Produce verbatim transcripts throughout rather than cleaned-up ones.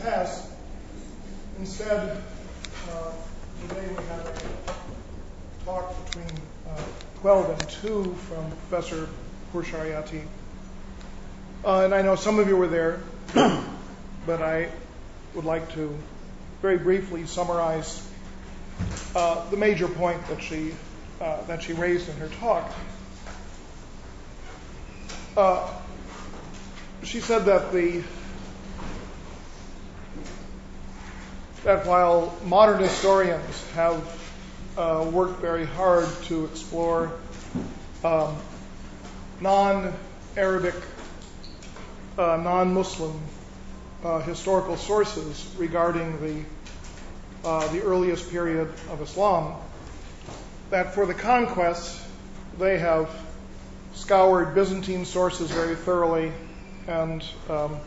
pass. Instead, uh, today we have a talk between uh, twelve and two from Professor Pourshariati. Uh, and I know some of you were there, but I would like to very briefly summarize uh, the major point that she uh, that she raised in her talk. Uh, she said that the that while modern historians have uh, worked very hard to explore um, non-Arabic, uh, non-Muslim uh, historical sources regarding the uh, the earliest period of Islam, that for the conquests they have scoured Byzantine sources very thoroughly and um,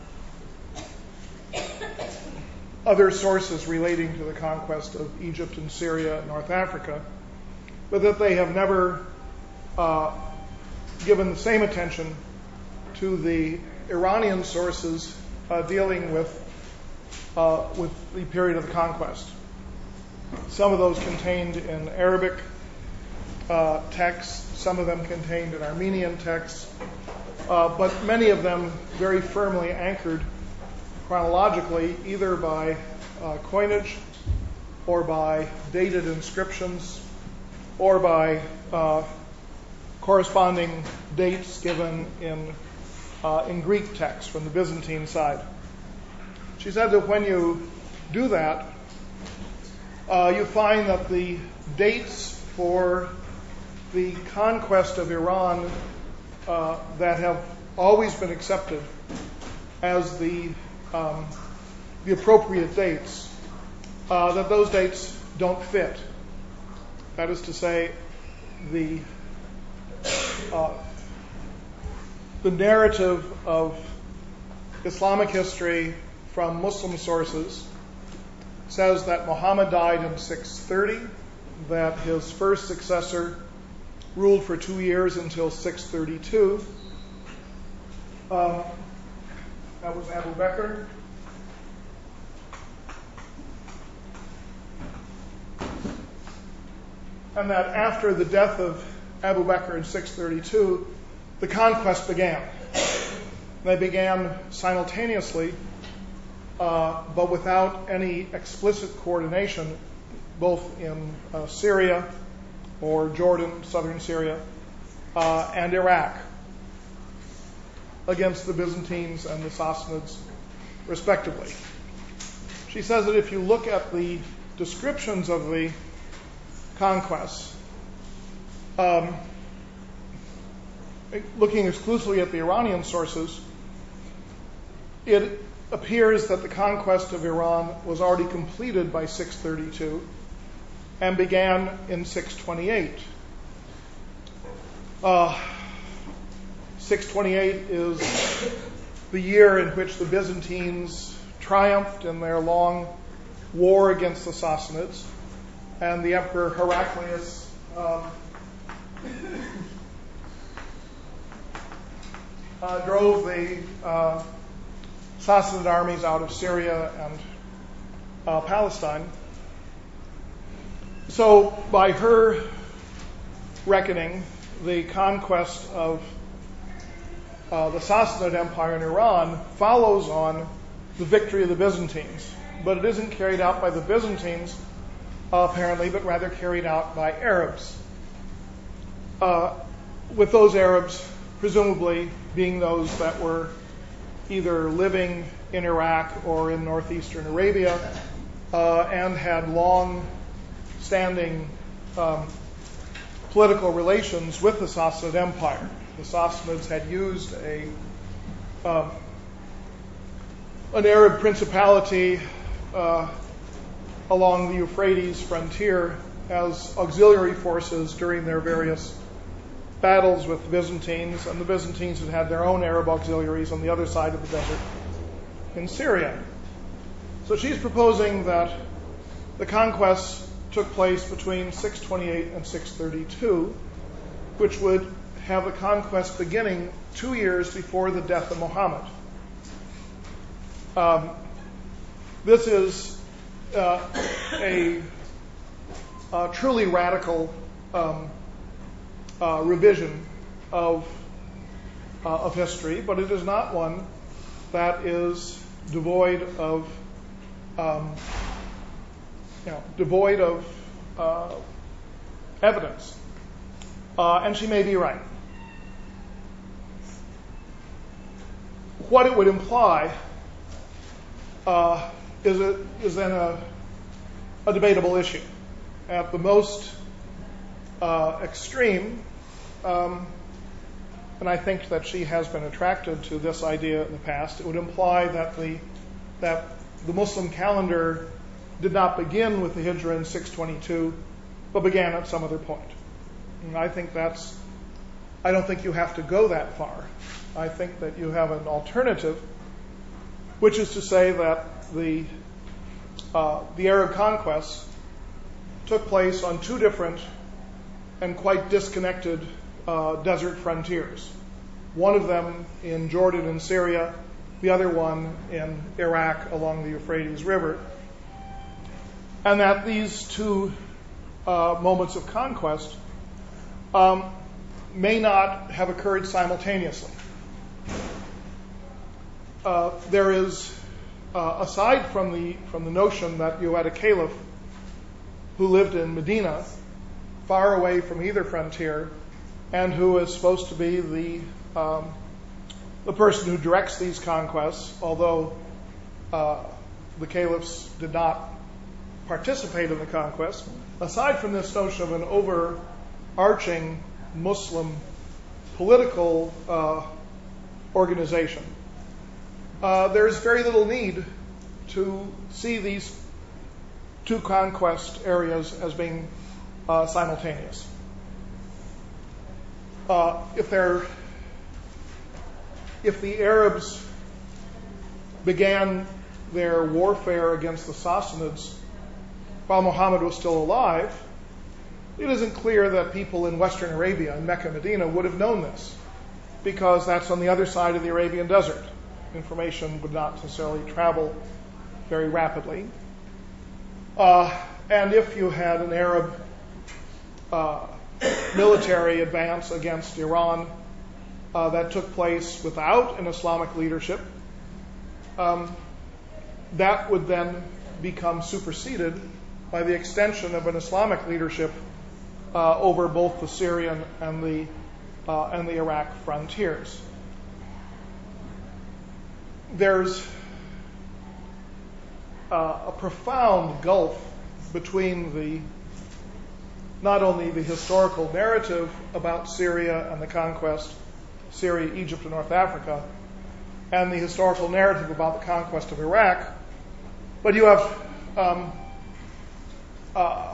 other sources relating to the conquest of Egypt and Syria and North Africa, but that they have never uh, given the same attention to the Iranian sources uh, dealing with uh, with the period of the conquest. Some of those contained in Arabic uh, texts, some of them contained in Armenian texts, uh, but many of them very firmly anchored chronologically, either by uh, coinage or by dated inscriptions or by uh, corresponding dates given in uh, in Greek texts from the Byzantine side. She said that when you do that, uh, you find that the dates for the conquest of Iran uh, that have always been accepted as the um, the appropriate dates, uh, that those dates don't fit. That is to say, the uh, the narrative of Islamic history from Muslim sources says that Muhammad died in six thirty, that his first successor ruled for two years until six thirty-two. Uh, that was Abu Bakr. And that after the death of Abu Bakr in six thirty-two, the conquest began. They began simultaneously, uh, but without any explicit coordination, both in uh, Syria or Jordan, southern Syria, uh, and Iraq, against the Byzantines and the Sassanids, respectively. She says that if you look at the descriptions of the conquests, um, looking exclusively at the Iranian sources, it appears that the conquest of Iran was already completed by six thirty-two and began in six twenty-eight. Uh, six twenty-eight is the year in which the Byzantines triumphed in their long war against the Sassanids, and the Emperor Heraclius um, uh, drove the uh, Sassanid armies out of Syria and uh, Palestine. So, by her reckoning, the conquest of uh, the Sassanid Empire in Iran follows on the victory of the Byzantines, but it isn't carried out by the Byzantines, uh, apparently, but rather carried out by Arabs. Uh, with those Arabs, presumably, being those that were either living in Iraq or in northeastern Arabia, uh, and had long standing um, political relations with the Sassanid Empire. The Sassanids had used a um, an Arab principality uh, along the Euphrates frontier as auxiliary forces during their various battles with the Byzantines, and the Byzantines had had their own Arab auxiliaries on the other side of the desert in Syria. So she's proposing that the conquests took place between six twenty-eight and six thirty-two, which would have the conquest beginning two years before the death of Muhammad. Um, this is uh, a, a truly radical um, uh, revision of uh, of history, but it is not one that is devoid of um, you know devoid of uh, evidence, uh, and she may be right. What it would imply uh, is, a, is then a, a debatable issue. At the most uh, extreme, um, and I think that she has been attracted to this idea in the past, it would imply that the that the Muslim calendar did not begin with the Hijra in six twenty-two, but began at some other point. And I think that's, I don't think you have to go that far. I think that you have an alternative, which is to say that the uh, the Arab conquests took place on two different and quite disconnected uh, desert frontiers. One of them in Jordan and Syria, the other one in Iraq along the Euphrates River. And that these two uh, moments of conquest um, may not have occurred simultaneously. Uh, there is, uh, aside from the from the notion that you had a caliph who lived in Medina, far away from either frontier, and who is supposed to be the um, the person who directs these conquests, although uh, the caliphs did not participate in the conquest. Aside from this notion of an overarching Muslim political uh, organization, uh, there is very little need to see these two conquest areas as being uh, simultaneous. Uh, if they're, if the Arabs began their warfare against the Sassanids while Muhammad was still alive, it isn't clear that people in Western Arabia, in Mecca, Medina, would have known this, because that's on the other side of the Arabian desert. Information would not necessarily travel very rapidly. Uh, and if you had an Arab uh, military advance against Iran uh, that took place without an Islamic leadership, um, that would then become superseded by the extension of an Islamic leadership uh, over both the Syrian and the uh, and the Iraq frontiers. There's uh, a profound gulf between the not only the historical narrative about Syria and the conquest, Syria, Egypt, and North Africa, and the historical narrative about the conquest of Iraq, but you have um, uh,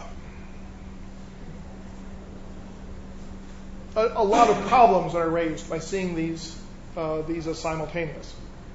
a, a lot of problems that are raised by seeing these uh, these as simultaneous.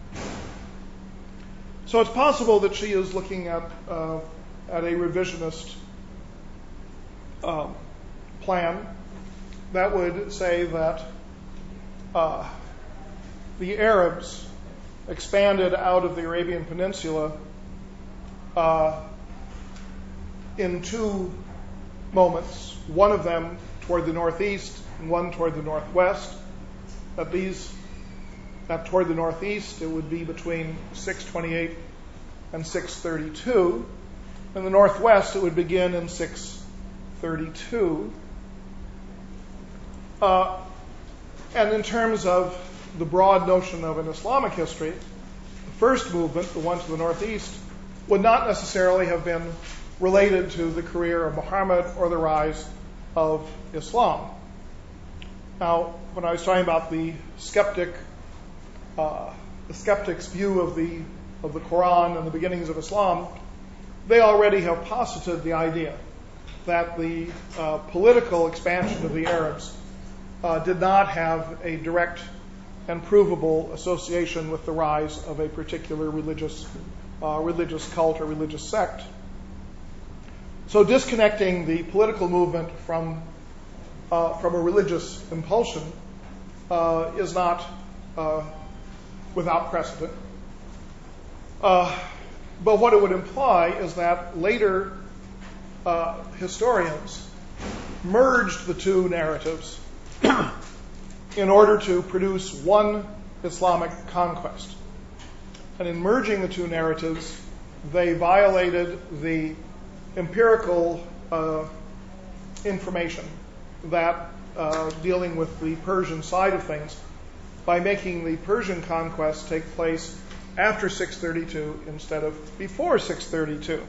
So it's possible that she is looking at uh, at a revisionist um, plan that would say that uh, the Arabs expanded out of the Arabian Peninsula uh, in two moments, one of them toward the northeast and one toward the northwest. That these, that toward the northeast, it would be between six twenty-eight and six thirty-two. In the northwest, it would begin in six thirty-two. Uh, and in terms of the broad notion of an Islamic history, the first movement, the one to the northeast, would not necessarily have been related to the career of Muhammad or the rise of Islam. Now, when I was talking about the skeptic, uh, the skeptic's view of the of the Quran and the beginnings of Islam, they already have posited the idea that the uh, political expansion of the Arabs uh, did not have a direct and provable association with the rise of a particular religious uh, religious cult or religious sect. So disconnecting the political movement from uh, from a religious impulsion uh, is not uh, without precedent. Uh, but what it would imply is that later uh, historians merged the two narratives in order to produce one Islamic conquest. And in merging the two narratives, they violated the empirical uh, information that uh, dealing with the Persian side of things by making the Persian conquest take place after six thirty-two instead of before six thirty-two.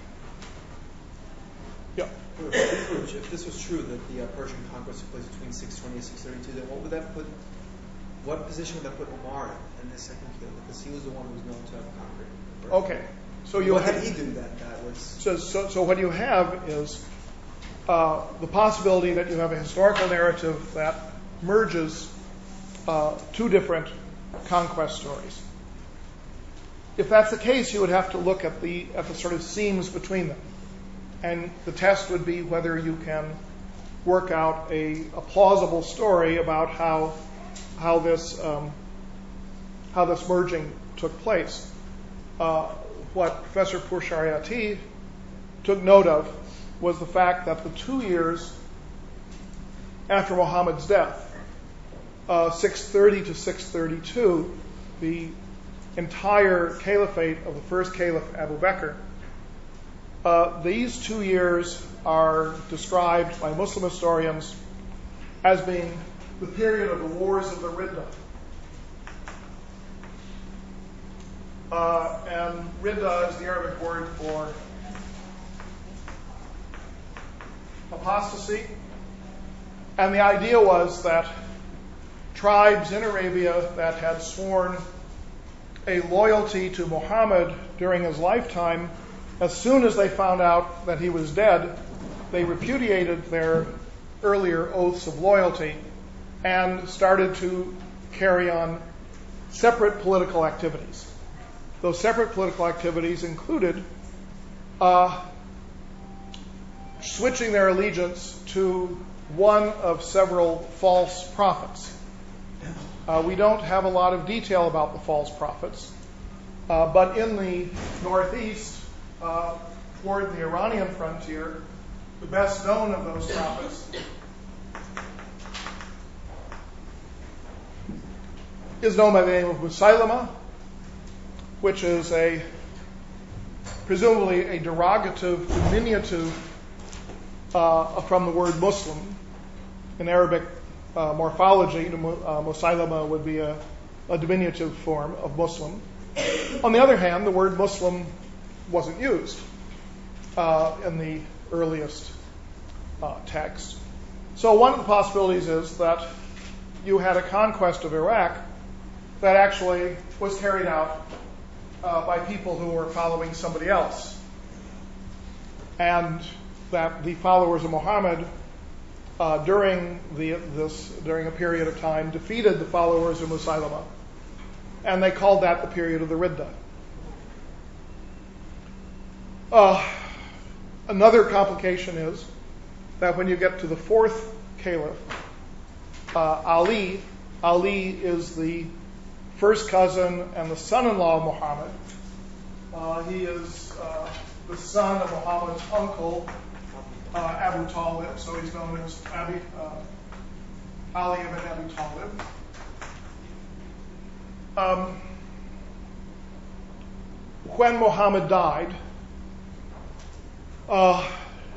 Yeah. If this was true, that the uh, Persian conquest took place between six twenty and six thirty-two, then what would that put? What position would that put Omar in, in this second kill? Because he was the one who was known to have conquered. Okay. So you what have, did he do that that was? So, so, so what you have is uh, the possibility that you have a historical narrative that merges uh, two different conquest stories. If that's the case, you would have to look at the at the sort of seams between them, and the test would be whether you can work out a, a plausible story about how how this um, how this merging took place. Uh, what Professor Pourshariati took note of was the fact that the two years after Muhammad's death, uh, six thirty to six thirty-two, the entire caliphate of the first caliph Abu Bakr, uh, these two years are described by Muslim historians as being the period of the wars of the Ridda. Uh, and Ridda is the Arabic word for apostasy. And the idea was that tribes in Arabia that had sworn a loyalty to Muhammad during his lifetime, as soon as they found out that he was dead, they repudiated their earlier oaths of loyalty and started to carry on separate political activities. Those separate political activities included uh, switching their allegiance to one of several false prophets. Uh, we don't have a lot of detail about the false prophets, uh, but in the northeast, uh, toward the Iranian frontier, the best known of those prophets is known by the name of Musaylama, which is a presumably a derogative diminutive uh, from the word Muslim. In Arabic uh, morphology, uh, Musaylama would be a, a diminutive form of Muslim. On the other hand, the word Muslim wasn't used uh, in the earliest uh, text. So one of the possibilities is that you had a conquest of Iraq that actually was carried out uh, by people who were following somebody else, and that the followers of Muhammad uh, during the this during a period of time defeated the followers of Musaylama, and they called that the period of the Ridda. Uh, another complication is that when you get to the fourth caliph, uh, Ali, Ali is the first cousin and the son-in-law of Muhammad. Uh, he is uh, the son of Muhammad's uncle, uh, Abu Talib, so he's known as Abi, uh, Ali ibn Abi Talib. Um, when Muhammad died, uh,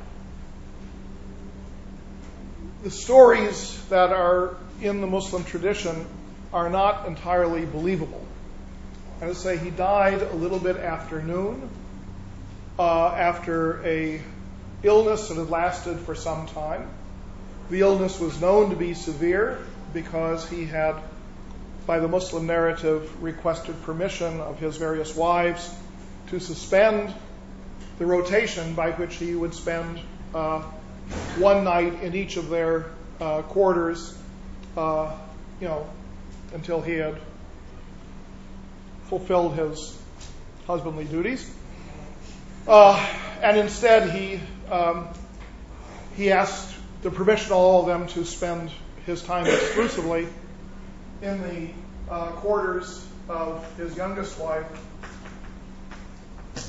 the stories that are in the Muslim tradition are not entirely believable. I would say he died a little bit after noon, uh, after a illness that had lasted for some time. The illness was known to be severe because he had, by the Muslim narrative, requested permission of his various wives to suspend the rotation by which he would spend uh, one night in each of their uh, quarters, uh, you know, until he had fulfilled his husbandly duties. Uh, and instead he um, he asked the permission of all of them to spend his time exclusively in the uh, quarters of his youngest wife,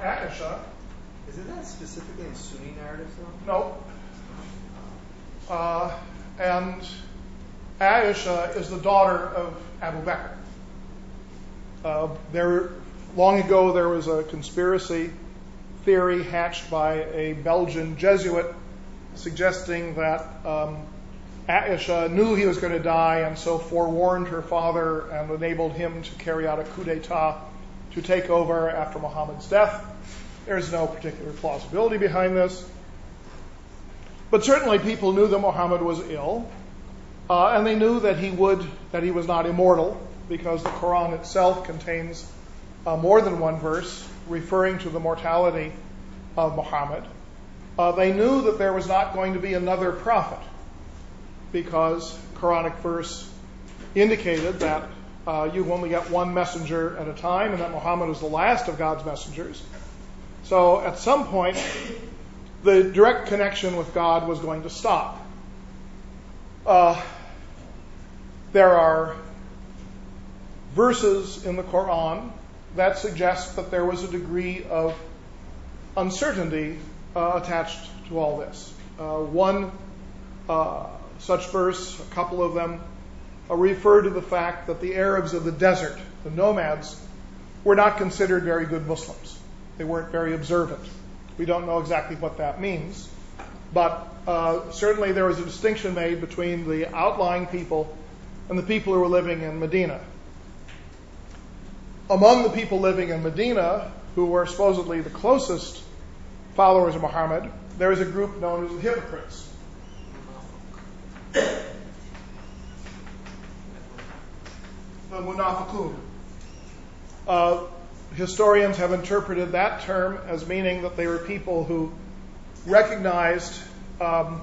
Aisha. Isn't that specifically in Sunni narratives, though? No. Uh, and Aisha is the daughter of Abu Bakr. Uh, there, long ago, there was a conspiracy theory hatched by a Belgian Jesuit suggesting that um, Aisha knew he was going to die and so forewarned her father and enabled him to carry out a coup d'etat to take over after Muhammad's death. There's no particular plausibility behind this. But certainly people knew that Muhammad was ill, uh, and they knew that he would, that he was not immortal, because the Quran itself contains uh, more than one verse referring to the mortality of Muhammad. Uh, they knew that there was not going to be another prophet, because Quranic verse indicated that uh, you only get one messenger at a time, and that Muhammad is the last of God's messengers. So at some point, the direct connection with God was going to stop. Uh, there are verses in the Quran that suggest that there was a degree of uncertainty uh, attached to all this. Uh, one uh, such verse, a couple of them, uh, refer to the fact that the Arabs of the desert, the nomads, were not considered very good Muslims. They weren't very observant. We don't know exactly what that means, but uh, certainly there was a distinction made between the outlying people and the people who were living in Medina. Among the people living in Medina, who were supposedly the closest followers of Muhammad, there is a group known as the hypocrites. The munafiqun. Uh, historians have interpreted that term as meaning that they were people who recognized um,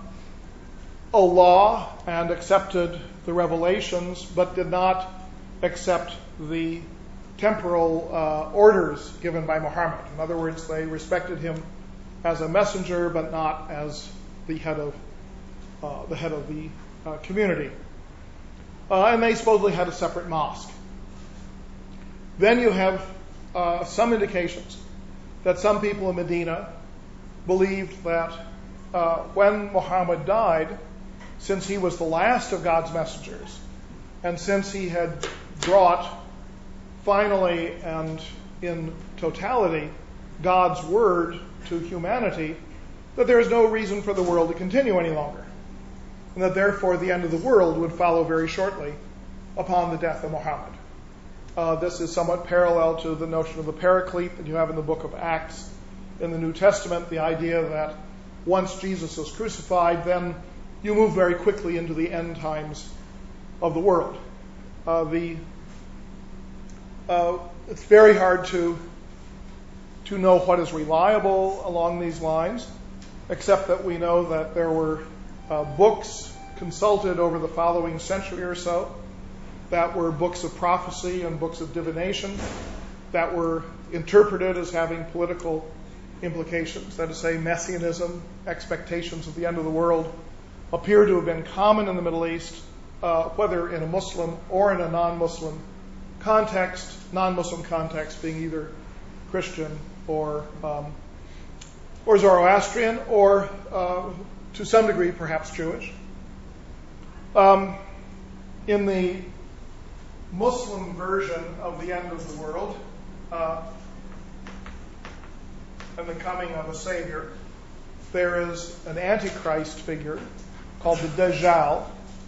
Allah and accepted the revelations, but did not accept the temporal uh, orders given by Muhammad. In other words, they respected him as a messenger, but not as the head of uh, the head of the uh, community. Uh, and they supposedly had a separate mosque. Then you have uh, some indications that some people in Medina believed that uh, when Muhammad died, since he was the last of God's messengers, and since he had brought finally and in totality God's word to humanity, that there is no reason for the world to continue any longer, and that therefore the end of the world would follow very shortly upon the death of Muhammad. Uh, this is somewhat parallel to the notion of the paraclete that you have in the book of Acts in the New Testament, the idea that once Jesus is crucified, then you move very quickly into the end times of the world. Uh, the uh, it's very hard to to know what is reliable along these lines, except that we know that there were uh, books consulted over the following century or so that were books of prophecy and books of divination that were interpreted as having political implications. That is to say, messianism, expectations of the end of the world, appear to have been common in the Middle East, uh, whether in a Muslim or in a non-Muslim context, non-Muslim context being either Christian or um, or Zoroastrian, or uh, to some degree perhaps Jewish. Um, in the Muslim version of the end of the world uh, and the coming of a Savior, there is an Antichrist figure called the Dajjal,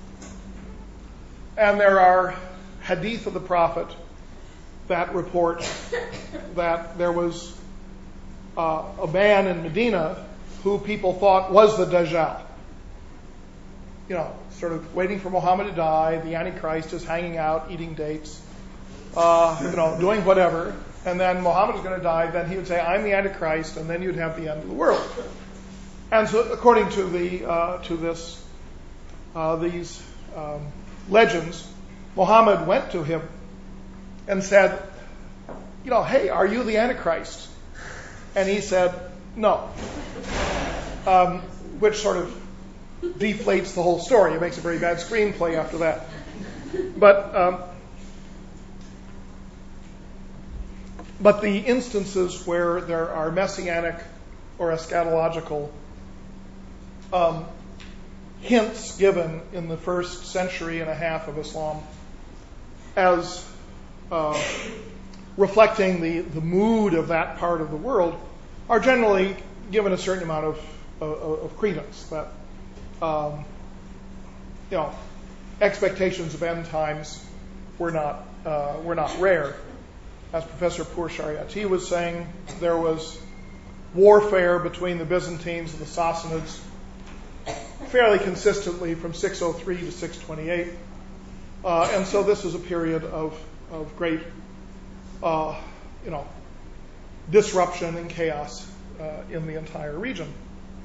and there are hadith of the Prophet that report that there was uh, a man in Medina who people thought was the Dajjal. You know, sort of waiting for Muhammad to die, the Antichrist is hanging out, eating dates, uh, you know, doing whatever, and then Muhammad is going to die, then he would say, I'm the Antichrist, and then you'd have the end of the world. And so according to the uh, to this uh, these um, legends, Muhammad went to him and said, you know, hey, are you the Antichrist? And he said, no. Um, which sort of deflates the whole story. It makes a very bad screenplay after that. But um, but the instances where there are messianic or eschatological um, hints given in the first century and a half of Islam as uh, reflecting the, the mood of that part of the world are generally given a certain amount of, of, of credence. That um, you know, expectations of end times were not uh, were not rare. As Professor Pur Shariati was saying, there was warfare between the Byzantines and the Sassanids fairly consistently from six oh three to six twenty-eight. Uh, and so this is a period of, of great, uh, you know, disruption and chaos uh, in the entire region.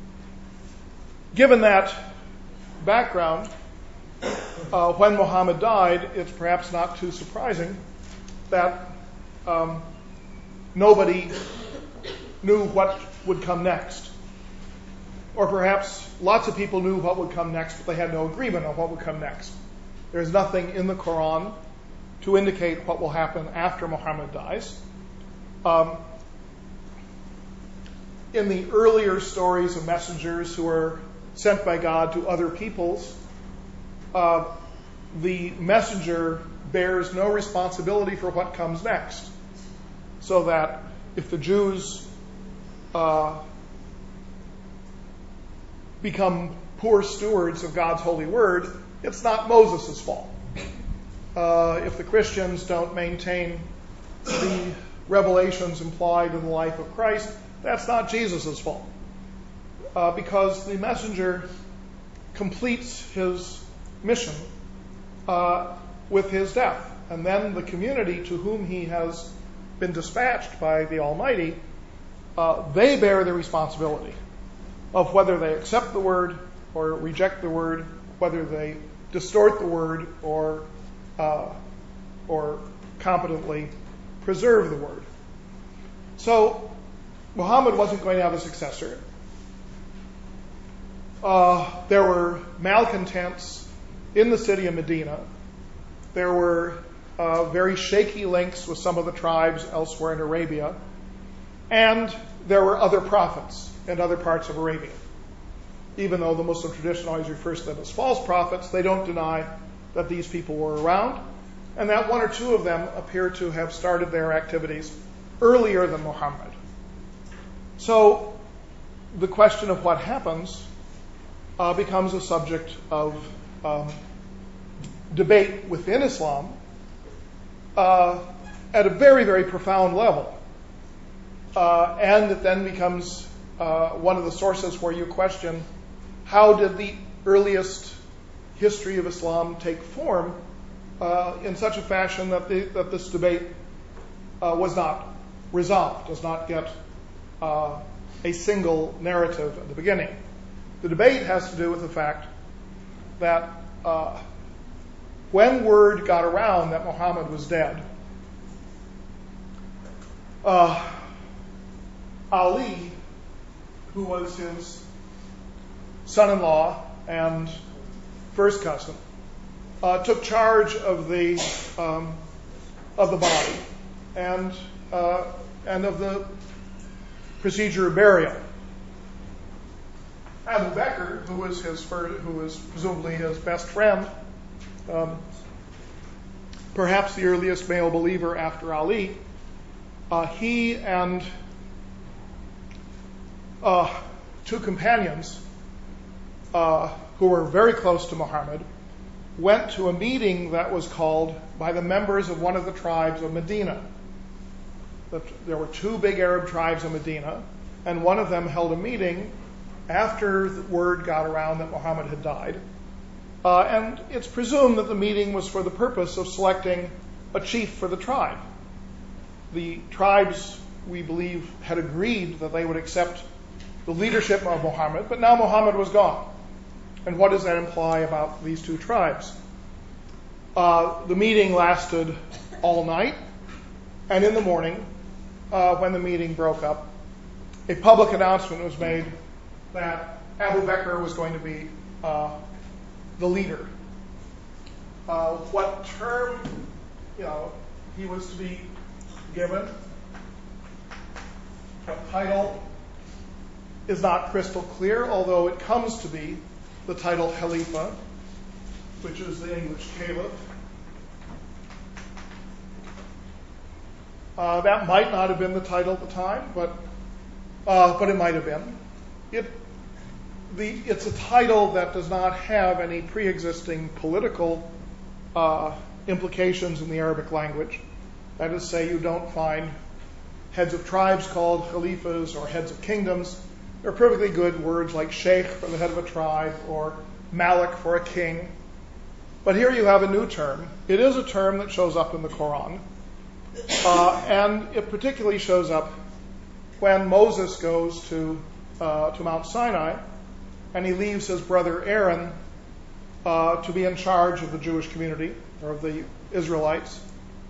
Given that background, uh, when Muhammad died, it's perhaps not too surprising that um, nobody knew what would come next. Or perhaps lots of people knew what would come next, but they had no agreement on what would come next. There's nothing in the Quran to indicate what will happen after Muhammad dies. Um, in the earlier stories of messengers who are sent by God to other peoples, uh, the messenger bears no responsibility for what comes next. So that if the Jews uh, become poor stewards of God's holy word, it's not Moses' fault. Uh, if the Christians don't maintain the revelations implied in the life of Christ, that's not Jesus' fault. Uh, because the messenger completes his mission uh, with his death. And then the community to whom he has been dispatched by the Almighty, uh, they bear the responsibility of whether they accept the word or reject the word, whether they distort the word or uh, or competently preserve the word. So Muhammad wasn't going to have a successor. Uh, there were malcontents in the city of Medina. There were uh, very shaky links with some of the tribes elsewhere in Arabia. And there were other prophets in other parts of Arabia. Even though the Muslim tradition always refers to them as false prophets, they don't deny that these people were around, and that one or two of them appear to have started their activities earlier than Muhammad. So the question of what happens uh, becomes a subject of um, debate within Islam uh, at a very, very profound level. Uh, and it then becomes uh, one of the sources where you question, how did the earliest history of Islam take form uh, in such a fashion that, the, that this debate uh, was not resolved, does not get uh, a single narrative at the beginning. The debate has to do with the fact that uh, when word got around that Muhammad was dead, uh, Ali, who was his son-in-law and first cousin, uh, took charge of the um, of the body and uh, and of the procedure of burial. Abu Bakr, who was his first, who was presumably his best friend, um, perhaps the earliest male believer after Ali, uh, he and uh, two companions uh, who were very close to Muhammad went to a meeting that was called by the members of one of the tribes of Medina. There were two big Arab tribes in Medina, and one of them held a meeting after the word got around that Muhammad had died. Uh, and it's presumed that the meeting was for the purpose of selecting a chief for the tribe. The tribes, we believe, had agreed that they would accept the leadership of Muhammad, but now Muhammad was gone. And what does that imply about these two tribes? Uh, the meeting lasted all night, and in the morning, uh, when the meeting broke up, a public announcement was made that Abu Bakr was going to be uh, the leader. Uh, what term, you know, he was to be given What title is not crystal clear, although it comes to be the title Khalifa, which is the English caliph. Uh, that might not have been the title at the time, but uh, but it might have been. It the it's a title that does not have any pre-existing political uh, implications in the Arabic language. That is to say, you don't find heads of tribes called khalifas or heads of kingdoms. There are perfectly good words like sheikh for the head of a tribe or malik for a king. But here you have a new term. It is a term that shows up in the Quran. Uh, and it particularly shows up when Moses goes to uh, to Mount Sinai and he leaves his brother Aaron uh, to be in charge of the Jewish community or of the Israelites.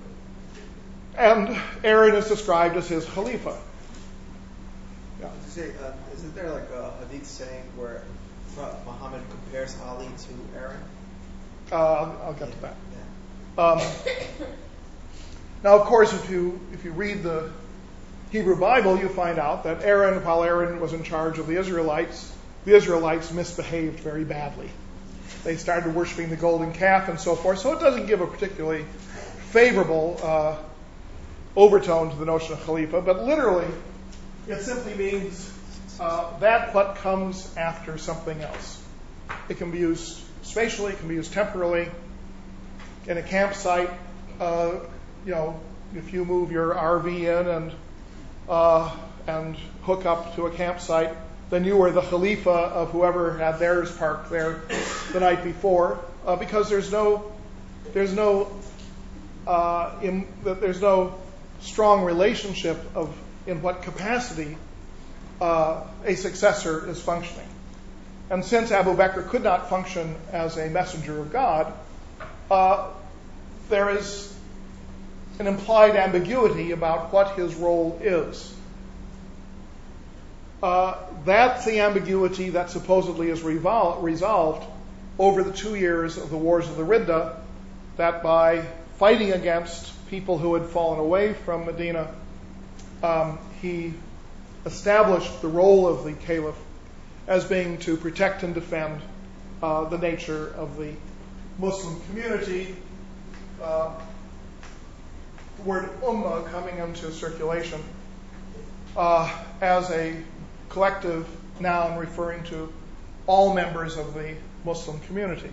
And Aaron is described as his Khalifa. Yeah. Say, uh, isn't there like a hadith saying where Muhammad compares Ali to Aaron? Uh, I'll, I'll get yeah. to that. Yeah. Um, now, of course, if you if you read the Hebrew Bible, you find out that Aaron, while Aaron was in charge of the Israelites, the Israelites misbehaved very badly. They started worshiping the golden calf and so forth. So it doesn't give a particularly favorable uh, overtone to the notion of Khalifa, but literally, it simply means uh, that what comes after something else. It can be used spatially, it can be used temporally. In a campsite, uh, you know, if you move your R V in and uh, and hook up to a campsite, then you are the Khalifa of whoever had theirs parked there the night before, uh, because there's no there's no uh, in, there's no strong relationship of in what capacity uh, a successor is functioning. And since Abu Bakr could not function as a messenger of God, uh, there is an implied ambiguity about what his role is. Uh, that's the ambiguity that supposedly is revol- resolved over the two years of the Wars of the Ridda, that by fighting against people who had fallen away from Medina, um, he established the role of the caliph as being to protect and defend uh, the nature of the Muslim community. Uh, the word ummah coming into circulation uh, as a collective noun referring to all members of the Muslim community.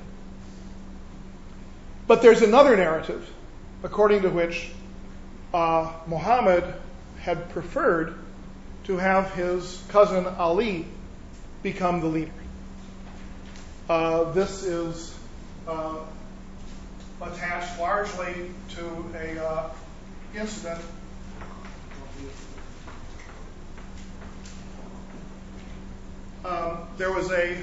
But there's another narrative according to which uh, Muhammad had preferred to have his cousin Ali become the leader. Uh, this is uh, attached largely to a uh, incident um, there was a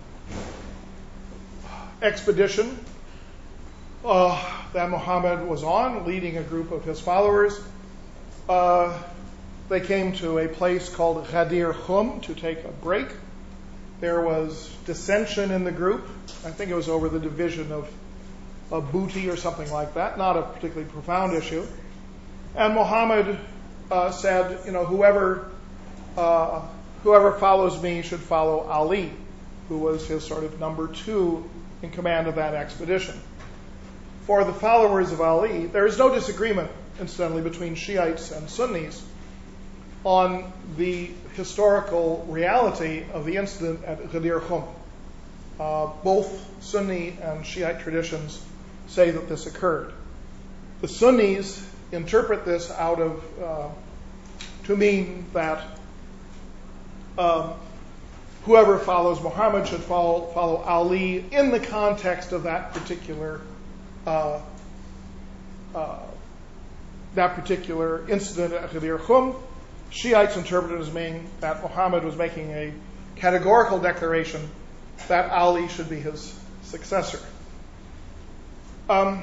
expedition uh, that Muhammad was on, leading a group of his followers. Uh, they came to a place called Ghadir Khum to take a break. There was dissension in the group. I think it was over the division of, of booty or something like that, not a particularly profound issue. And Muhammad uh, said, you know, whoever uh, whoever follows me should follow Ali, who was his sort of number two in command of that expedition. For the followers of Ali, there is no disagreement, incidentally, between Shiites and Sunnis on the historical reality of the incident at Ghadir Khum. Uh, both Sunni and Shiite traditions say that this occurred. The Sunnis interpret this out of uh, to mean that um, whoever follows Muhammad should follow, follow Ali in the context of that particular uh, uh, that particular incident at Ghadir Khum. Shiites interpret it as meaning that Muhammad was making a categorical declaration that Ali should be his successor. Um,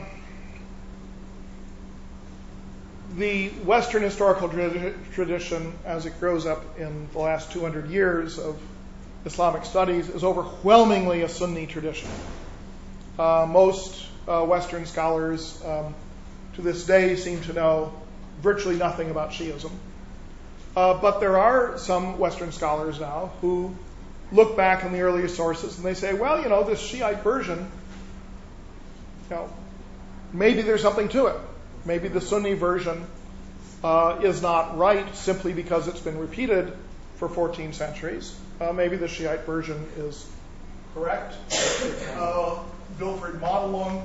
the Western historical tra- tradition, as it grows up in the last two hundred years of Islamic studies, is overwhelmingly a Sunni tradition. Uh, most uh, Western scholars um, to this day seem to know virtually nothing about Shiism. Uh, but there are some Western scholars now who look back in the earlier sources and they say, well, you know, this Shiite version, you know, maybe there's something to it. Maybe the Sunni version uh, is not right simply because it's been repeated for fourteen centuries. Uh, maybe the Shiite version is correct. Uh, Wilfred Madelung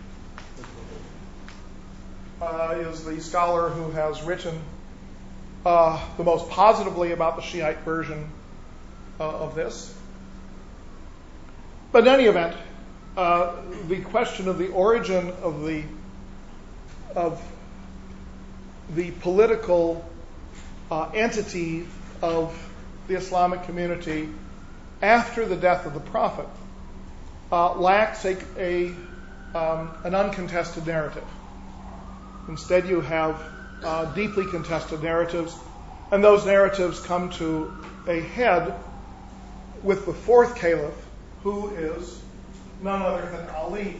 uh, is the scholar who has written uh, the most positively about the Shiite version uh, of this. But in any event, uh, the question of the origin of the of the political uh, entity of the Islamic community after the death of the Prophet uh, lacks a, a um, an uncontested narrative. Instead, you have uh, deeply contested narratives, and those narratives come to a head with the fourth caliph, who is none other than Ali.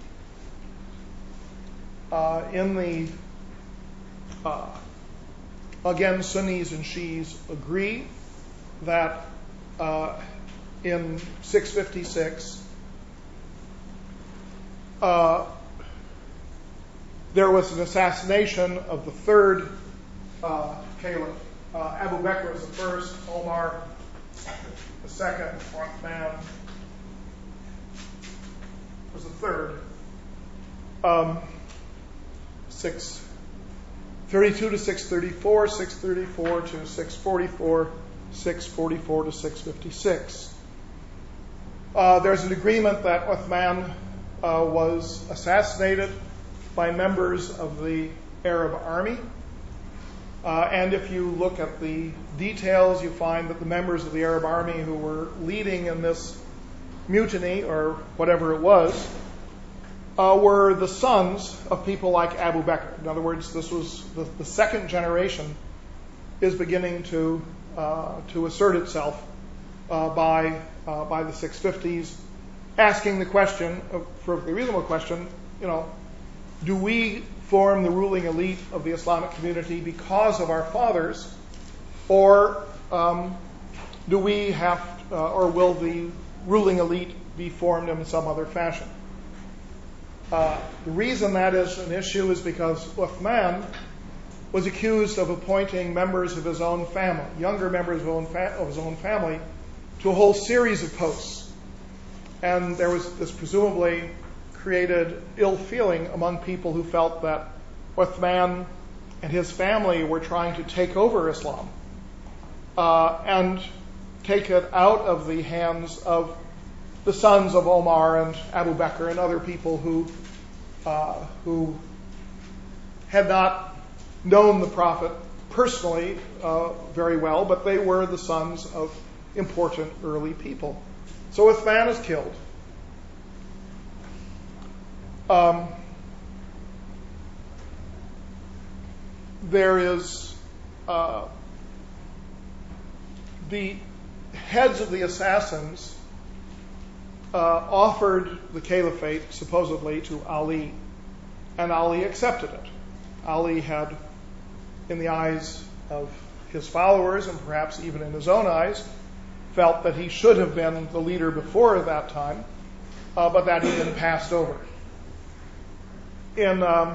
Uh, in the uh, again, Sunnis and Shias agree that uh, in six fifty-six uh, there was an assassination of the third uh, caliph. Uh, Abu Bakr was the first, Omar the second, Uthman was the third. Um, six thirty-two to six thirty-four, six thirty-four to six forty-four, six forty-four to six fifty-six. Uh, there's an agreement that Uthman uh, was assassinated by members of the Arab army. Uh, and if you look at the details, you find that the members of the Arab army who were leading in this mutiny, or whatever it was, Uh, were the sons of people like Abu Bakr. In other words, this was the, the second generation is beginning to uh, to assert itself uh, by uh, by the six fifties, asking the question, a perfectly reasonable question, you know, do we form the ruling elite of the Islamic community because of our fathers, or um, do we have, uh, or will the ruling elite be formed in some other fashion? Uh, the reason that is an issue is because Uthman was accused of appointing members of his own family, younger members of, own fa- of his own family, to a whole series of posts. And there was this presumably created ill feeling among people who felt that Uthman and his family were trying to take over Islam uh, and take it out of the hands of the sons of Omar and Abu Bakr and other people who uh, who had not known the Prophet personally uh, very well, but they were the sons of important early people. So Uthman is killed. Um, there is uh, the heads of the assassins Uh, offered the caliphate, supposedly, to Ali, and Ali accepted it. Ali had, in the eyes of his followers, and perhaps even in his own eyes, felt that he should have been the leader before that time, uh, but that he'd been passed over. In um,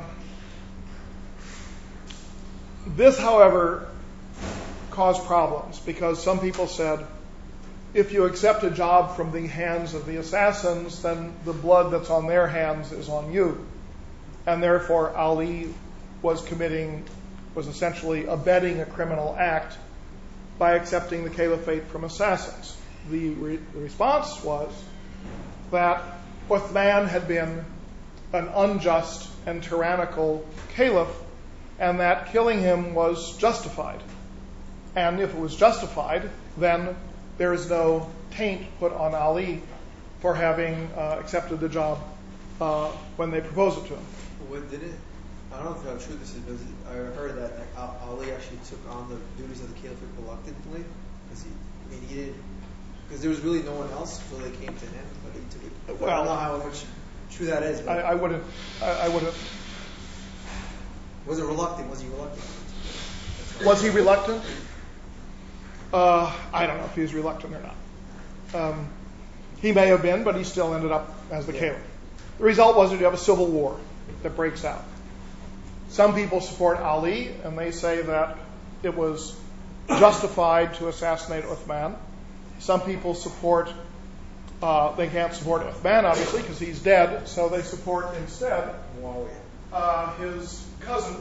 this, however, caused problems, because some people said, if you accept a job from the hands of the assassins, then the blood that's on their hands is on you. And therefore, Ali was committing, was essentially abetting a criminal act by accepting the caliphate from assassins. The, re- the response was that Uthman had been an unjust and tyrannical caliph, and that killing him was justified. And if it was justified, then there is no taint put on Ali for having uh, accepted the job uh, when they proposed it to him. What did it? I don't know how true this is, but I heard that Ali actually took on the duties of the caliphate reluctantly, because he, I mean, he did, because there was really no one else until they came to him, but he took it. Well, I don't know how much true that is. But I, I wouldn't. I, I wouldn't. Was it reluctant? Was he reluctant? Was he reluctant? Uh, I don't know if he was reluctant or not. Um, he may have been, but he still ended up as the Yeah. caliph. The result was that you have a civil war that breaks out. Some people support Ali, and they say that it was justified to assassinate Uthman. Some people support, uh, they can't support Uthman, obviously, because he's dead, so they support instead Muawiyah. uh, his cousin,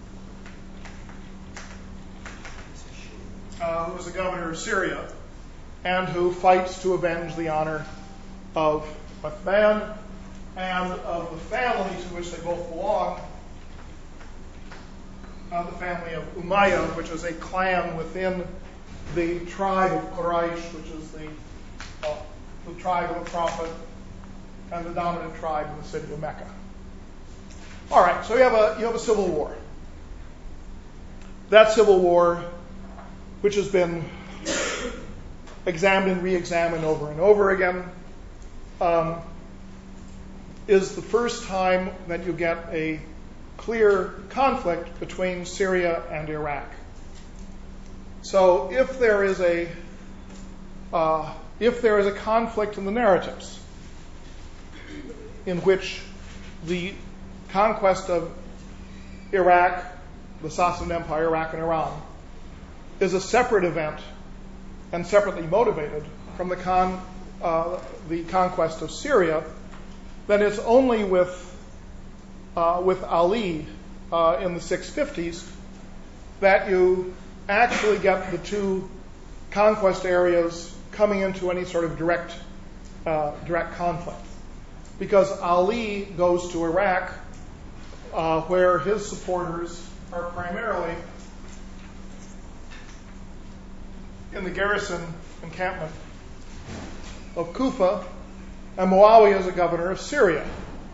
uh, who was the governor of Syria, and who fights to avenge the honor of Uthman and of the family to which they both belong, uh, the family of Umayyah, which is a clan within the tribe of Quraysh, which is the, uh, the tribe of the Prophet and the dominant tribe in the city of Mecca. All right, so you have a you have a civil war. That civil war, which has been examined and re-examined over and over again, um, is the first time that you get a clear conflict between Syria and Iraq. So if there is a uh, if there is a conflict in the narratives in which the conquest of Iraq, the Sassanid Empire, Iraq and Iran, is a separate event and separately motivated from the con uh, the conquest of Syria, then it's only with uh, with Ali uh, in the six fifties that you actually get the two conquest areas coming into any sort of direct uh, direct conflict, because Ali goes to Iraq, uh, where his supporters are primarily in the garrison encampment of Kufa, and Muawiyah is a governor of Syria.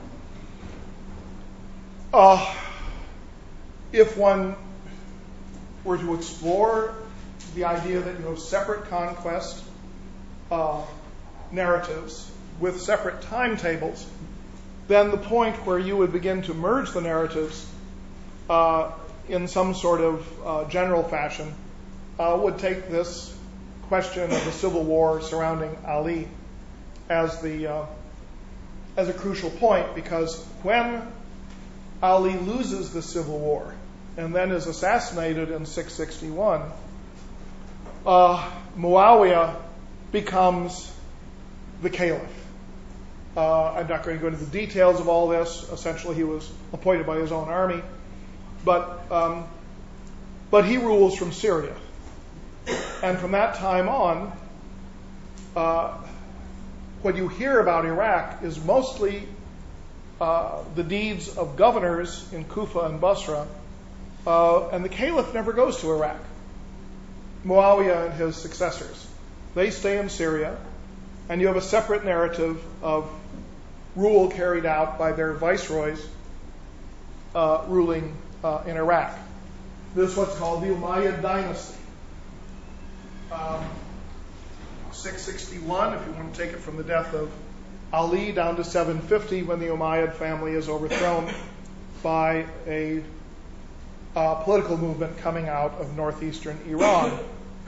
Uh, if one were to explore the idea that you have separate conquest uh, narratives with separate timetables, then the point where you would begin to merge the narratives uh, in some sort of uh, general fashion uh, would take this question of the civil war surrounding Ali as the uh, as a crucial point, because when Ali loses the civil war and then is assassinated in six sixty-one, uh, Muawiyah becomes the caliph. Uh, I'm not going to go into the details of all this. Essentially, he was appointed by his own army, but um, but he rules from Syria, and from that time on, uh, what you hear about Iraq is mostly uh, the deeds of governors in Kufa and Basra, uh, and the caliph never goes to Iraq. Muawiyah and his successors, they stay in Syria, and you have a separate narrative of rule carried out by their viceroys uh, ruling uh, in Iraq. This is what's called the Umayyad dynasty. Um, six sixty-one, if you want to take it from the death of Ali down to seven fifty, when the Umayyad family is overthrown by a uh, political movement coming out of northeastern Iran.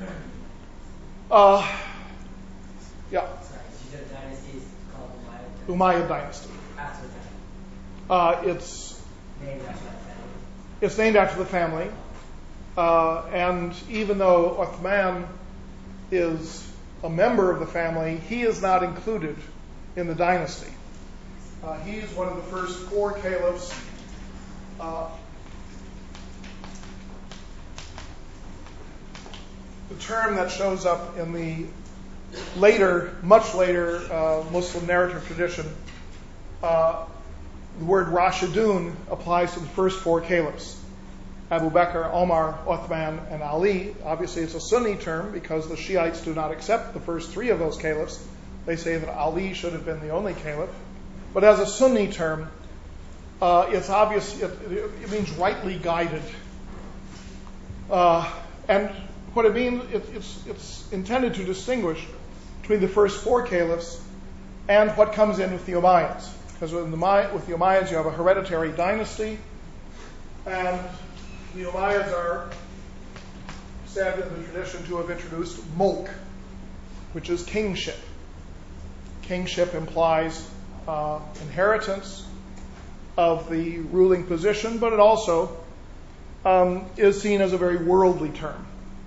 Uh, yeah. Sorry, you said dynasty is called Umayyad? Umayyad dynasty. After that. Uh, it's Named after that family. it's named after the family, uh, and even though Uthman is a member of the family, he is not included in the dynasty. Uh, he is one of the first four caliphs. Uh, the term that shows up in the later, much later uh, Muslim narrative tradition, uh, the word Rashidun applies to the first four caliphs: Abu Bakr, Omar, Uthman, and Ali. Obviously, it's a Sunni term because the Shiites do not accept the first three of those caliphs. They say that Ali should have been the only caliph. But as a Sunni term, uh, it's obvious, it, it means rightly guided. Uh, and what it means, it, it's, it's intended to distinguish between the first four caliphs and what comes in with the Umayyads. Because with the, with the Umayyads, you have a hereditary dynasty, and the Umayyads are said in the tradition to have introduced mulk, which is kingship. Kingship implies uh, inheritance of the ruling position, but it also um, is seen as a very worldly term.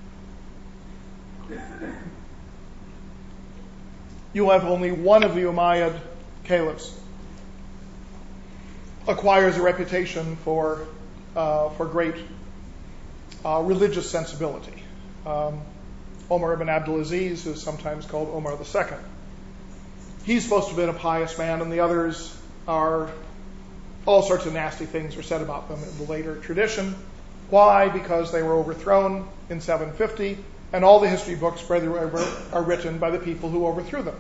You have only one of the Umayyad caliphs acquires a reputation for uh, for great uh, religious sensibility. Um, Omar ibn Abdulaziz is sometimes called Omar the Second. He's supposed to have been a pious man, and the others are, all sorts of nasty things are said about them in the later tradition. Why? Because they were overthrown in seven fifty, and all the history books are written by the people who overthrew them.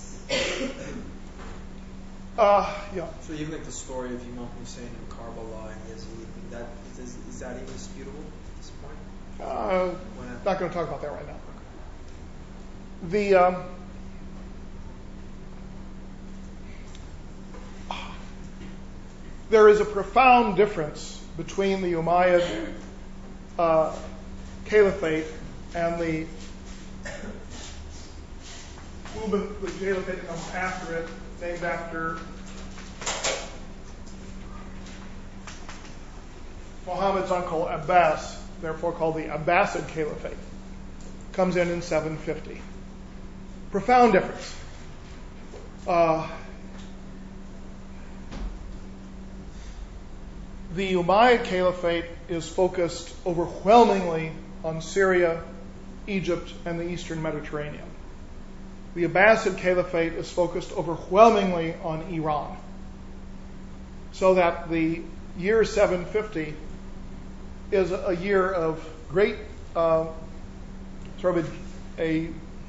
Uh, yeah. So even like the story of Imam Hussein and Karbala and Yazid, that is, is that even disputable at this point? Uh, When I- not going to talk about that right now. The um, there is a profound difference between the Umayyad uh, Caliphate and the movement, the Caliphate that comes after it, named after Muhammad's uncle Abbas, therefore called the Abbasid Caliphate, comes in in seven fifty. Profound difference. Uh, the Umayyad Caliphate is focused overwhelmingly on Syria, Egypt, and the Eastern Mediterranean. The Abbasid Caliphate is focused overwhelmingly on Iran. So that the year seven fifty is a year of great, uh, sort of a, a,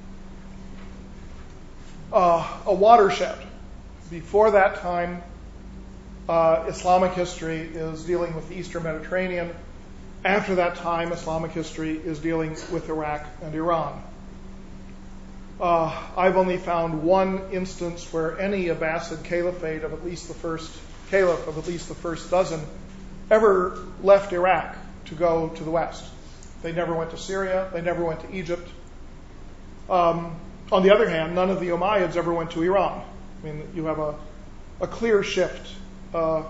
uh, a watershed. Before that time, uh, Islamic history is dealing with the Eastern Mediterranean. After that time, Islamic history is dealing with Iraq and Iran. Uh, I've only found one instance where any Abbasid caliphate of at least the first caliph of at least the first dozen ever left Iraq to go to the west. They never went to Syria. They never went to Egypt. Um, on the other hand, none of the Umayyads ever went to Iran. I mean, you have a, a clear shift. Uh,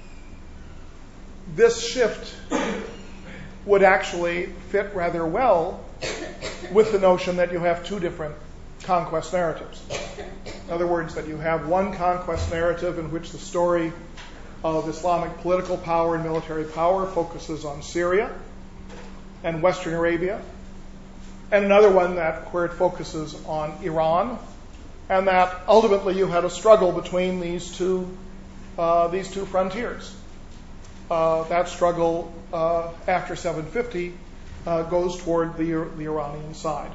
this shift would actually fit rather well with the notion that you have two different conquest narratives. In other words, that you have one conquest narrative in which the story of Islamic political power and military power focuses on Syria and Western Arabia, and another one that where it focuses on Iran, and that ultimately you had a struggle between these two uh, these two frontiers. Uh, that struggle uh, after seven fifty uh, goes toward the, the Iranian side.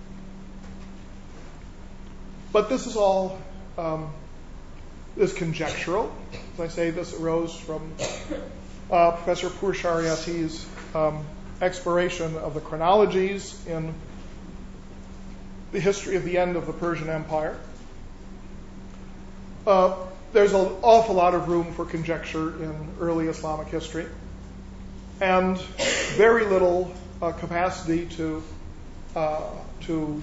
But this is all um, is conjectural. As I say, this arose from uh, Professor Pur Shariati's um, exploration of the chronologies in the history of the end of the Persian Empire. Uh, there's an awful lot of room for conjecture in early Islamic history, and very little uh, capacity to uh, to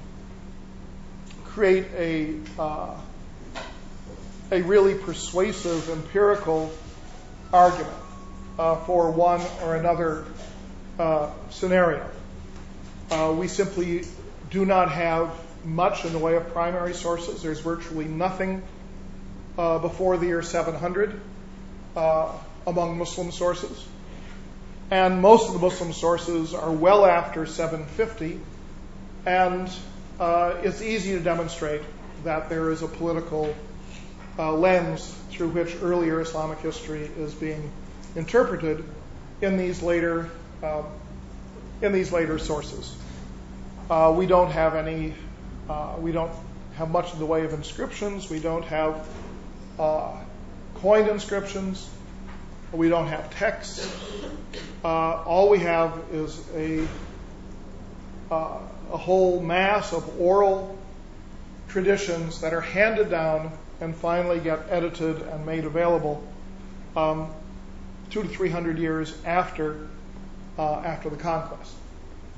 create a uh, a really persuasive empirical argument uh, for one or another uh, scenario. Uh, we simply do not have much in the way of primary sources. There's virtually nothing uh, before the year seven hundred uh, among Muslim sources. And most of the Muslim sources are well after seven fifty, and uh, it's easy to demonstrate that there is a political uh, lens through which earlier Islamic history is being interpreted in these later uh, in these later sources. Uh, we don't have any. Uh, we don't have much in the way of inscriptions. We don't have uh, coined inscriptions. We don't have texts. Uh, all we have is a uh, a whole mass of oral traditions that are handed down and finally get edited and made available um, two to three hundred years after uh, after the conquest.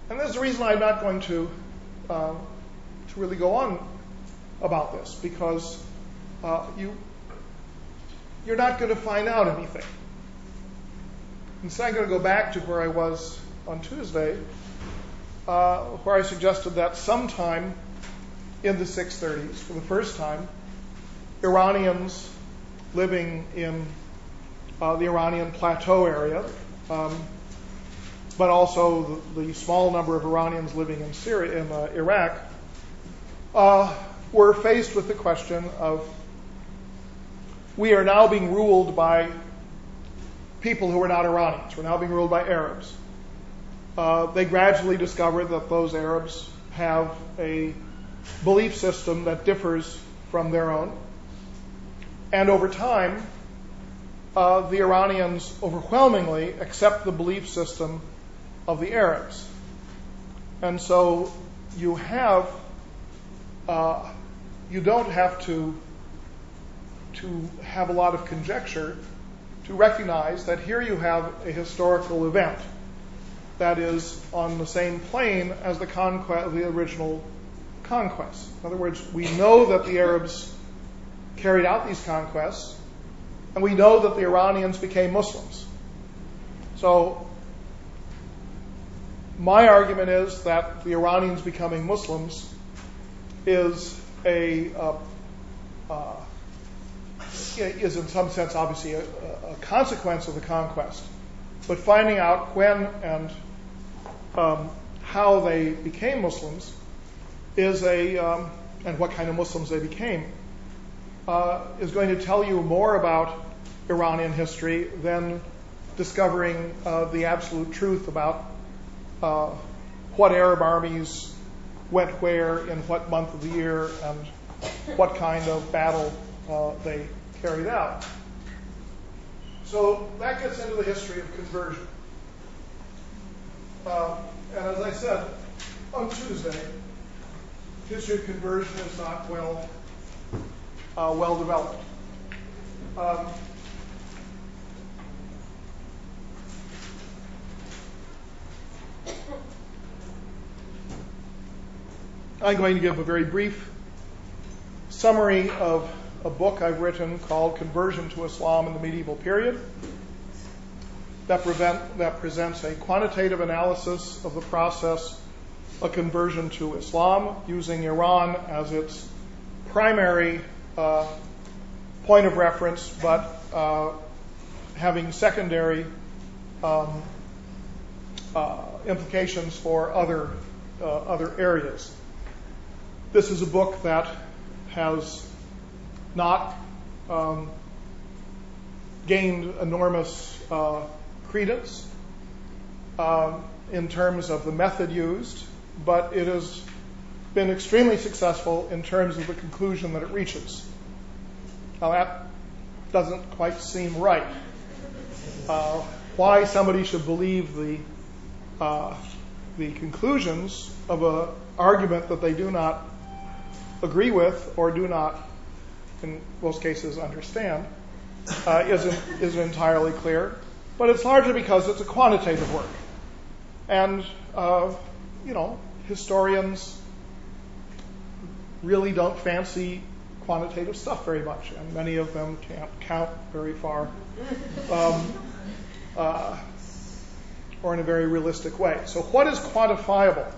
And there's a reason I'm not going to uh, to really go on about this, because uh, you you're not going to find out anything. Instead, I'm going to go back to where I was on Tuesday, uh, where I suggested that sometime in the six thirties, for the first time, Iranians living in uh, the Iranian plateau area, um, but also the, the small number of Iranians living in Syria, in uh, Iraq, uh, were faced with the question of, we are now being ruled by people who are not Iranians. We're now being ruled by Arabs. Uh, they gradually discovered that those Arabs have a belief system that differs from their own. And over time, uh, the Iranians overwhelmingly accept the belief system of the Arabs. And so you have, uh, you don't have to, to have a lot of conjecture to recognize that here you have a historical event that is on the same plane as the conquest, the original conquest. In other words, we know that the Arabs carried out these conquests, and we know that the Iranians became Muslims. So my argument is that the Iranians becoming Muslims is a uh, uh, is in some sense obviously a, a consequence of the conquest, but finding out when and um, how they became Muslims is a um, and what kind of Muslims they became uh, is going to tell you more about Iranian history than discovering uh, the absolute truth about uh, what Arab armies went where in what month of the year and what kind of battle uh, they carried out. So that gets into the history of conversion. Uh, and as I said on Tuesday, history of conversion is not well uh, well developed. Um, I'm going to give a very brief summary of a book I've written called Conversion to Islam in the Medieval Period that, prevent, that presents a quantitative analysis of the process of conversion to Islam using Iran as its primary uh, point of reference, but uh, having secondary um, uh, implications for other uh, other areas. This is a book that has not um, gained enormous uh, credence um, in terms of the method used, but it has been extremely successful in terms of the conclusion that it reaches. Now that doesn't quite seem right. Uh, why somebody should believe the uh, the conclusions of an argument that they do not agree with or do not, in most cases, understand, uh, isn't, isn't entirely clear. But it's largely because it's a quantitative work. And, uh, you know, historians really don't fancy quantitative stuff very much, and many of them can't count very far, um, uh, or in a very realistic way. So what is quantifiable?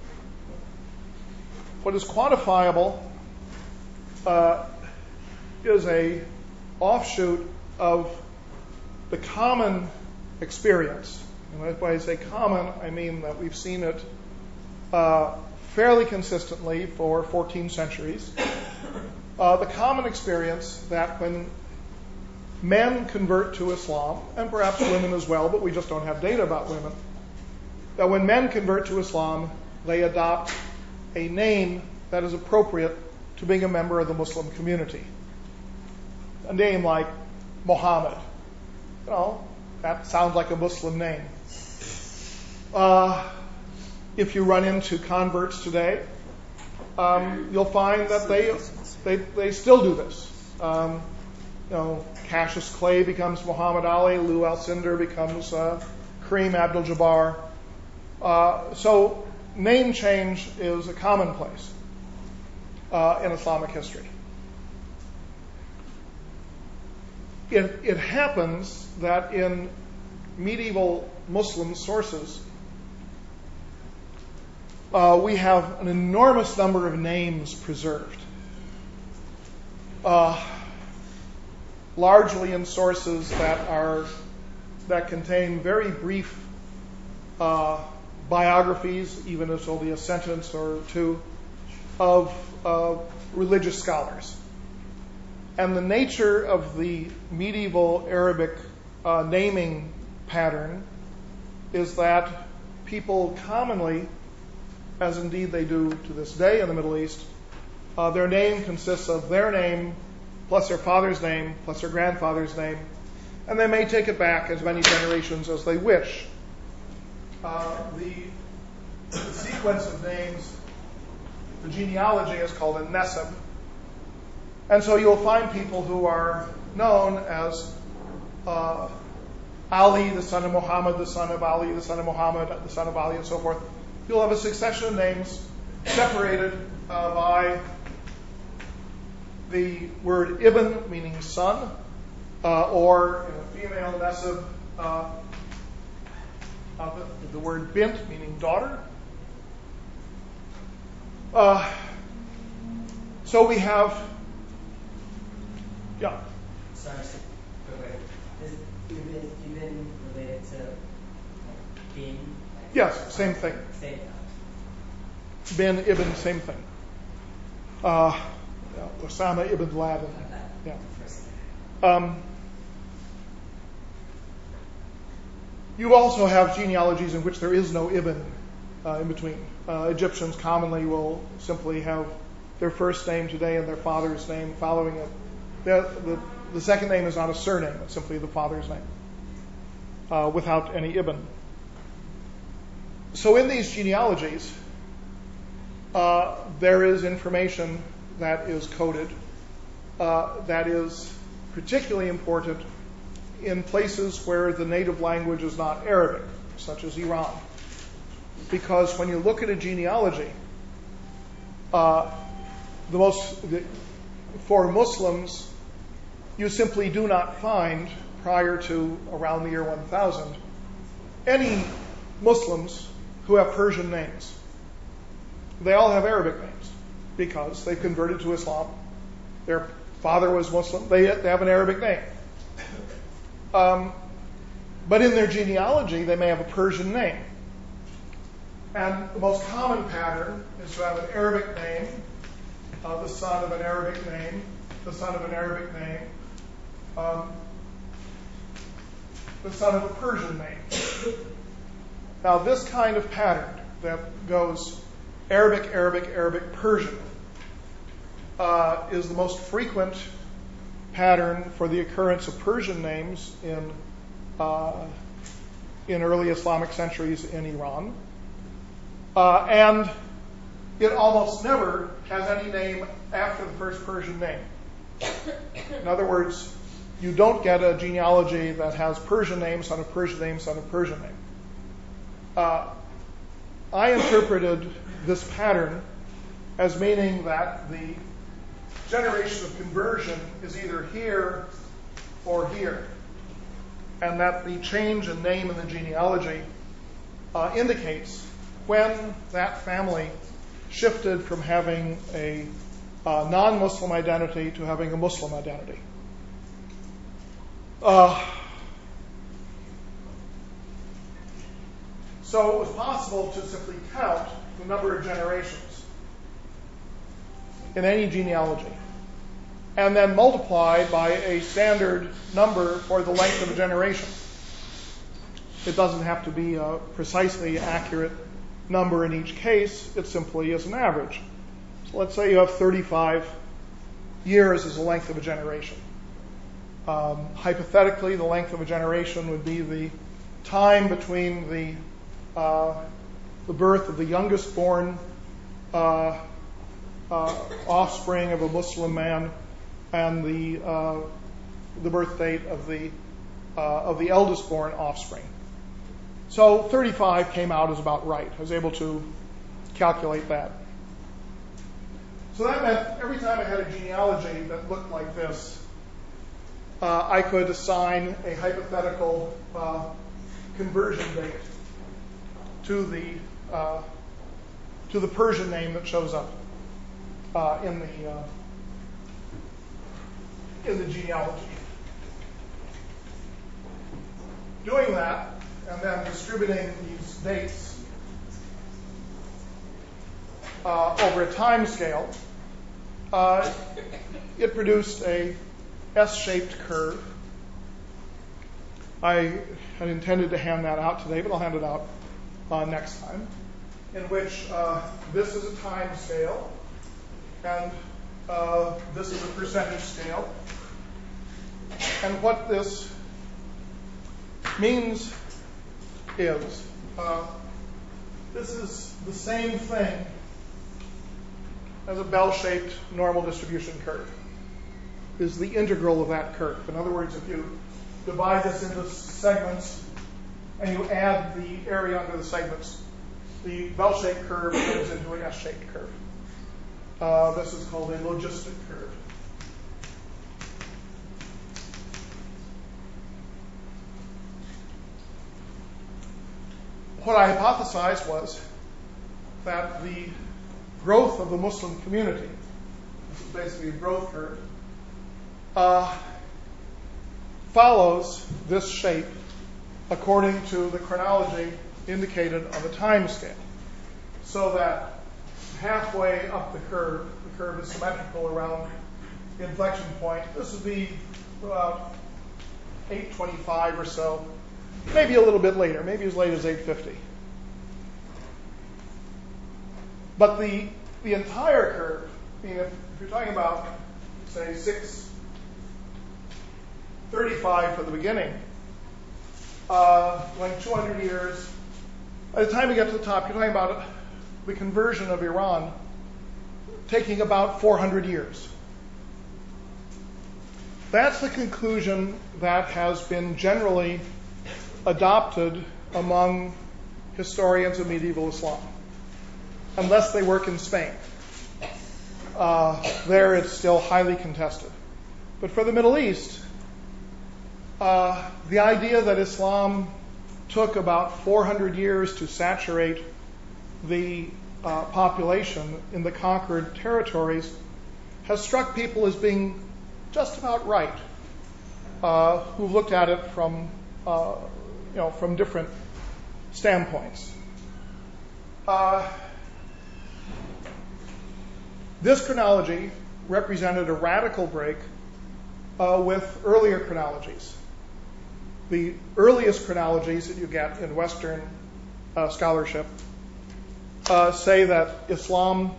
What is quantifiable uh, is a offshoot of the common experience. And when I say common, I mean that we've seen it uh, fairly consistently for fourteen centuries. Uh, the common experience that when men convert to Islam, and perhaps women as well, but we just don't have data about women, that when men convert to Islam, they adopt a name that is appropriate to being a member of the Muslim community. A name like Muhammad. You know, that sounds like a Muslim name. Uh, if you run into converts today, um, you'll find that they they, they still do this. Um, you know, Cassius Clay becomes Muhammad Ali, Lou Alcindor becomes uh, Kareem Abdul-Jabbar. Uh, so name change is a commonplace uh, in Islamic history. It, it happens that in medieval Muslim sources, uh, we have an enormous number of names preserved, uh, largely in sources that are that contain very brief uh, biographies, even if it's only a sentence or two, of uh, religious scholars. And the nature of the medieval Arabic uh, naming pattern is that people commonly, as indeed they do to this day in the Middle East, uh, their name consists of their name plus their father's name plus their grandfather's name, and they may take it back as many generations as they wish. Uh, the, the sequence of names, the genealogy, is called a nesab. And so you'll find people who are known as uh, Ali, the son of Muhammad, the son of Ali, the son of Muhammad, the son of Ali, and so forth. You'll have a succession of names separated uh, by the word ibn, meaning son, uh, or in a female nesab, uh, uh, the, the word bint, meaning daughter. Uh, so we have Yeah. Sorry, wait, wait. Is Ibn, Ibn related to like bin? Like, Yes, same thing. Same thing. Bin, Ibn, same thing. Uh, yeah, Osama ibn Laden. Like that. Yeah. First. Um, you also have genealogies in which there is no Ibn uh, in between. Uh, Egyptians commonly will simply have their first name today and their father's name following it. The, the, the second name is not a surname, it's simply the father's name, uh, without any Ibn. So in these genealogies, uh, there is information that is coded uh, that is particularly important in places where the native language is not Arabic, such as Iran. Because when you look at a genealogy, uh, the most the, for Muslims, you simply do not find, prior to around the year one thousand, any Muslims who have Persian names. They all have Arabic names because they've converted to Islam. Their father was Muslim. They, they have an Arabic name. Um, but in their genealogy, they may have a Persian name. And the most common pattern is to have an Arabic name, uh, the son of an Arabic name, the son of an Arabic name, um, the son of a Persian name. Now, this kind of pattern that goes Arabic, Arabic, Arabic, Persian uh, is the most frequent pattern for the occurrence of Persian names in uh, in early Islamic centuries in Iran. Uh, and it almost never has any name after the first Persian name. In other words, you don't get a genealogy that has Persian name, son of Persian name, son of Persian name. Uh, I interpreted this pattern as meaning that the generation of conversion is either here or here, and that the change in name in the genealogy uh, indicates when that family shifted from having a uh, non-Muslim identity to having a Muslim identity. Uh, so it was possible to simply count the number of generations in any genealogy and then multiply by a standard number for the length of a generation. It doesn't have to be a precisely accurate number in each case. It simply is an average. So let's say you have thirty-five years as the length of a generation. Um, hypothetically, the length of a generation would be the time between the uh, the birth of the youngest born uh, uh, offspring of a Muslim man and the uh, the birth date of the uh, of the eldest born offspring. So thirty-five came out as about right. I was able to calculate that. So that meant every time I had a genealogy that looked like this, uh, I could assign a hypothetical uh, conversion date to the uh, to the Persian name that shows up uh, in the uh, in the genealogy. Doing that and then distributing these dates uh, over a time scale, uh, it produced a S-shaped curve. I had intended to hand that out today, but I'll hand it out uh, next time, in which uh, this is a time scale, and uh, this is a percentage scale. And what this means is, uh, this is the same thing as a bell-shaped normal distribution curve. This is the integral of that curve. In other words, if you divide this into segments and you add the area under the segments, the bell-shaped curve turns into an S-shaped curve. Uh, this is called a logistic curve. What I hypothesized was that the growth of the Muslim community, this is basically a growth curve, uh, follows this shape according to the chronology indicated on the time scale. So that halfway up the curve, the curve is symmetrical around the inflection point. This would be about eight twenty-five or so. Maybe a little bit later, maybe as late as eight fifty. But the the entire curve, I mean, if, if you're talking about, say, six thirty-five for the beginning, uh, like two hundred years, by the time you get to the top, you're talking about the conversion of Iran taking about four hundred years. That's the conclusion that has been generally adopted among historians of medieval Islam, unless they work in Spain. Uh, there it's still highly contested. But for the Middle East, uh, the idea that Islam took about four hundred years to saturate the uh, population in the conquered territories has struck people as being just about right, uh, who looked at it from uh, you know, from different standpoints. Uh, this chronology represented a radical break uh, with earlier chronologies. The earliest chronologies that you get in Western uh, scholarship uh, say that Islam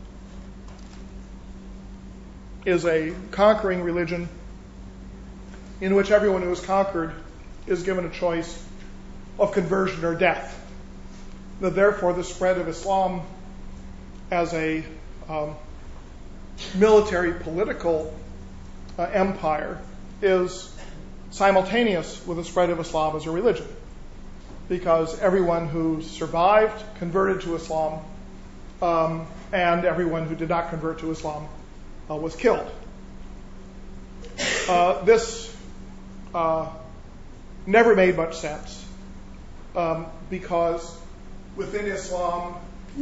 is a conquering religion in which everyone who is conquered is given a choice of conversion or death. That therefore the spread of Islam as a um, military political uh, empire is simultaneous with the spread of Islam as a religion, because everyone who survived converted to Islam, um, and everyone who did not convert to Islam uh, was killed. Uh, this uh, never made much sense, um, because within Islam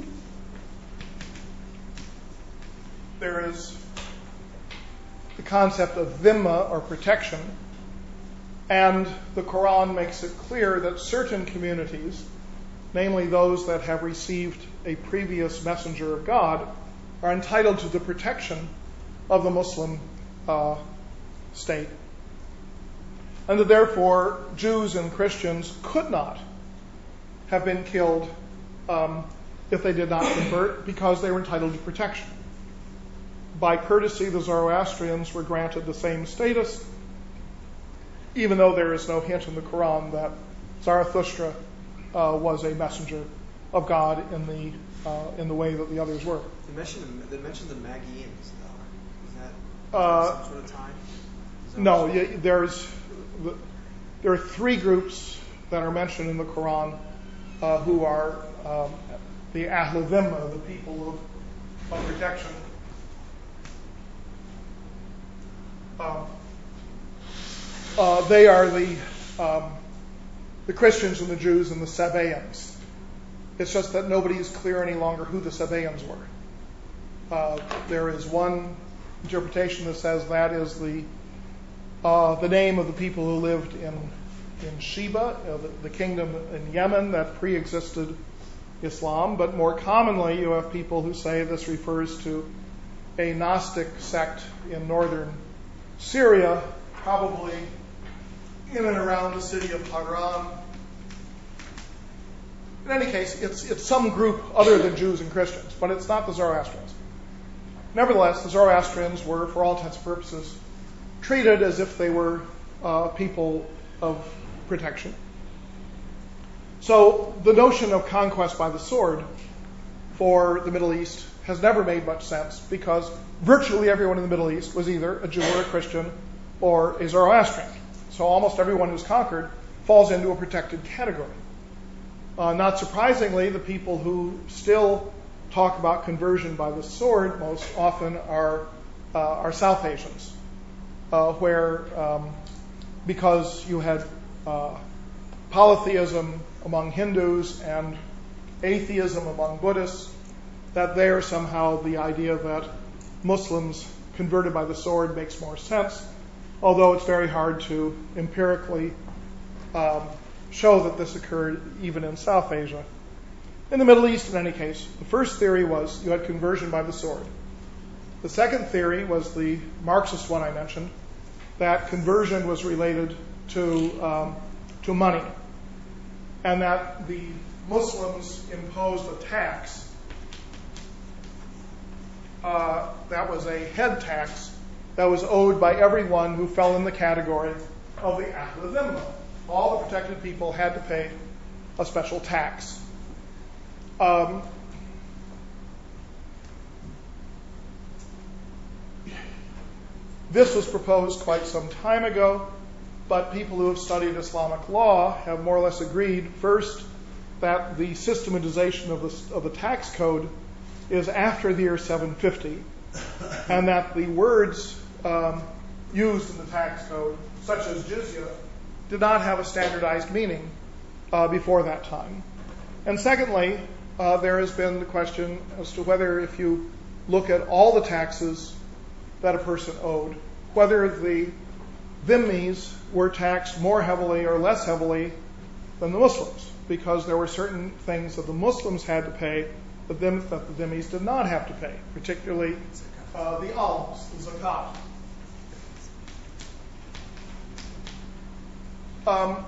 there is the concept of dhimma, or protection, and the Quran makes it clear that certain communities, namely those that have received a previous messenger of God, are entitled to the protection of the Muslim uh, state. And that therefore Jews and Christians could not have been killed um, if they did not convert, because they were entitled to protection. By courtesy, the Zoroastrians were granted the same status, even though there is no hint in the Quran that Zarathustra uh, was a messenger of God in the uh, in the way that the others were. They mentioned they mentioned the Magians, though. Is that, is Uh, that some sort of time? Is that No, what- y- there's there are three groups that are mentioned in the Quran, uh, who are um, the Ahl Dhimma, the people of, of protection. Um, uh, they are the um, the Christians and the Jews and the Sabaeans. It's just that nobody is clear any longer who the Sabaeans were. Uh, there is one interpretation that says that is the uh, the name of the people who lived in in Sheba, uh, the, the kingdom in Yemen that pre-existed Islam. But more commonly, you have people who say this refers to a Gnostic sect in northern Syria, probably in and around the city of Haran. In any case, it's, it's some group other than Jews and Christians, but it's not the Zoroastrians. Nevertheless, the Zoroastrians were, for all intents and purposes, treated as if they were uh, people of protection. So the notion of conquest by the sword for the Middle East has never made much sense, because virtually everyone in the Middle East was either a Jew or a Christian or a Zoroastrian. So almost everyone who's conquered falls into a protected category. Uh, not surprisingly, the people who still talk about conversion by the sword most often are uh, are South Asians, uh, where um, because you had uh, polytheism among Hindus and atheism among Buddhists, that there somehow the idea that Muslims converted by the sword makes more sense, although it's very hard to empirically um, show that this occurred even in South Asia. In the Middle East, in any case, the first theory was you had conversion by the sword. The second theory was the Marxist one I mentioned, that conversion was related to um, to money, and that the Muslims imposed a tax uh, that was a head tax that was owed by everyone who fell in the category of the Ahl Dhimma. All the protected people had to pay a special tax. Um, this was proposed quite some time ago, but people who have studied Islamic law have more or less agreed, first, that the systematization of the, of the tax code is after the year seven fifty, and that the words um, used in the tax code, such as jizya, did not have a standardized meaning uh, before that time. And secondly, uh, there has been the question as to whether, if you look at all the taxes that a person owed, whether the dhimmis were taxed more heavily or less heavily than the Muslims, because there were certain things that the Muslims had to pay that, them, that the dhimmis did not have to pay, particularly uh, the alms, the zakat. Um,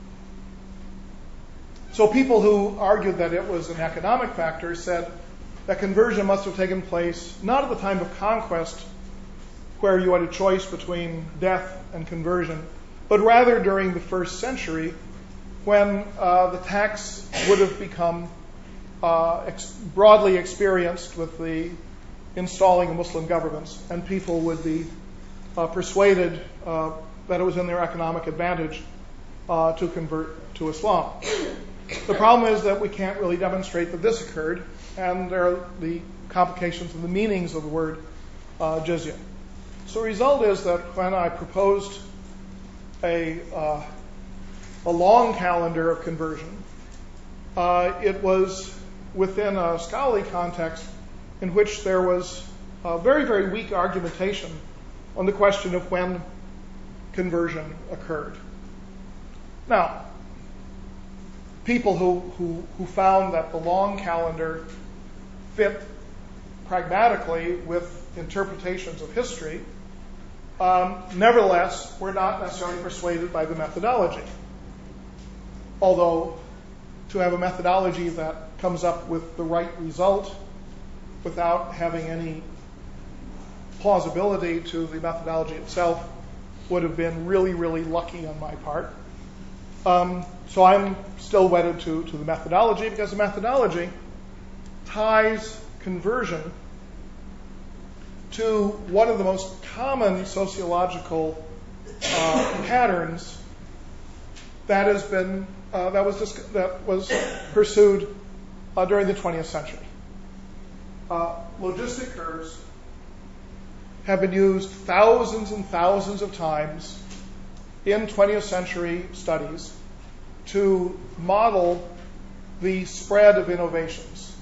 so people who argued that it was an economic factor said that conversion must have taken place not at the time of conquest, where you had a choice between death and conversion, but rather during the first century, when uh, the tax would have become uh, ex- broadly experienced with the installing of Muslim governments, and people would be uh, persuaded uh, that it was in their economic advantage uh, to convert to Islam. The problem is that we can't really demonstrate that this occurred, and there are the complications of the meanings of the word uh, jizya. So the result is that when I proposed a uh, a long calendar of conversion, uh, it was within a scholarly context in which there was a very, very weak argumentation on the question of when conversion occurred. Now, people who, who, who found that the long calendar fit pragmatically with interpretations of history, um, nevertheless, were not necessarily persuaded by the methodology. Although, to have a methodology that comes up with the right result without having any plausibility to the methodology itself would have been really, really lucky on my part. Um, so I'm still wedded to, to the methodology, because the methodology ties conversion to one of the most common sociological uh, patterns that has been uh, that was dis- that was pursued uh, during the twentieth century. Uh, logistic curves have been used thousands and thousands of times in twentieth century studies to model the spread of innovations.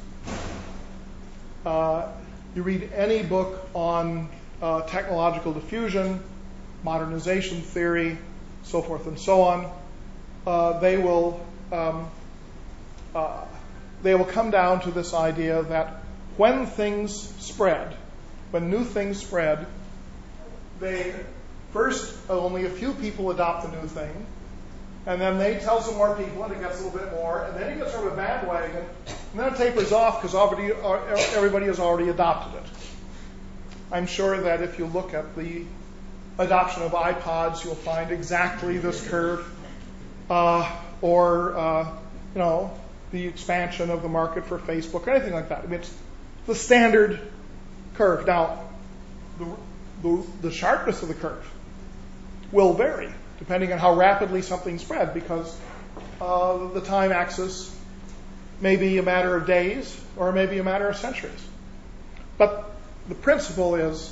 Uh, you read any book on uh, technological diffusion, modernization theory, so forth and so on, uh, they will um, uh, they will come down to this idea that when things spread, when new things spread, they first only a few people adopt the new thing, and then they tell some more people, and it gets a little bit more, and then it gets sort of a bandwagon, and then it tapers off because everybody has already adopted it. I'm sure that if you look at the adoption of iPods, you'll find exactly this curve, uh, or uh, you know, the expansion of the market for Facebook, or anything like that. I mean, it's the standard curve. Now, the, the, the sharpness of the curve will vary depending on how rapidly something spread, because uh, the time axis may be a matter of days or maybe a matter of centuries. But the principle is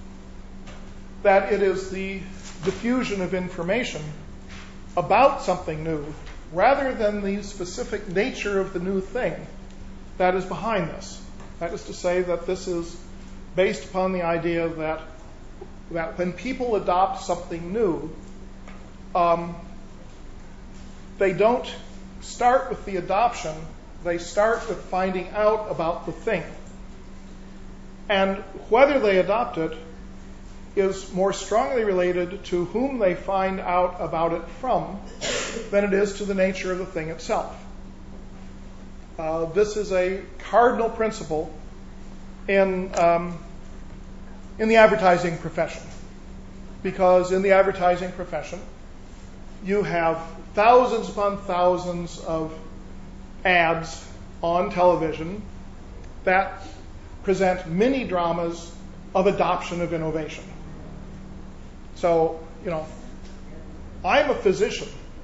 that it is the diffusion of information about something new rather than the specific nature of the new thing that is behind this. That is to say that this is based upon the idea that, that when people adopt something new, um, they don't start with the adoption, they start with finding out about the thing. And whether they adopt it is more strongly related to whom they find out about it from than it is to the nature of the thing itself. Uh, this is a cardinal principle in um, in the advertising profession, because in the advertising profession you have thousands upon thousands of ads on television that present mini dramas of adoption of innovation. So, you know, I'm a physician,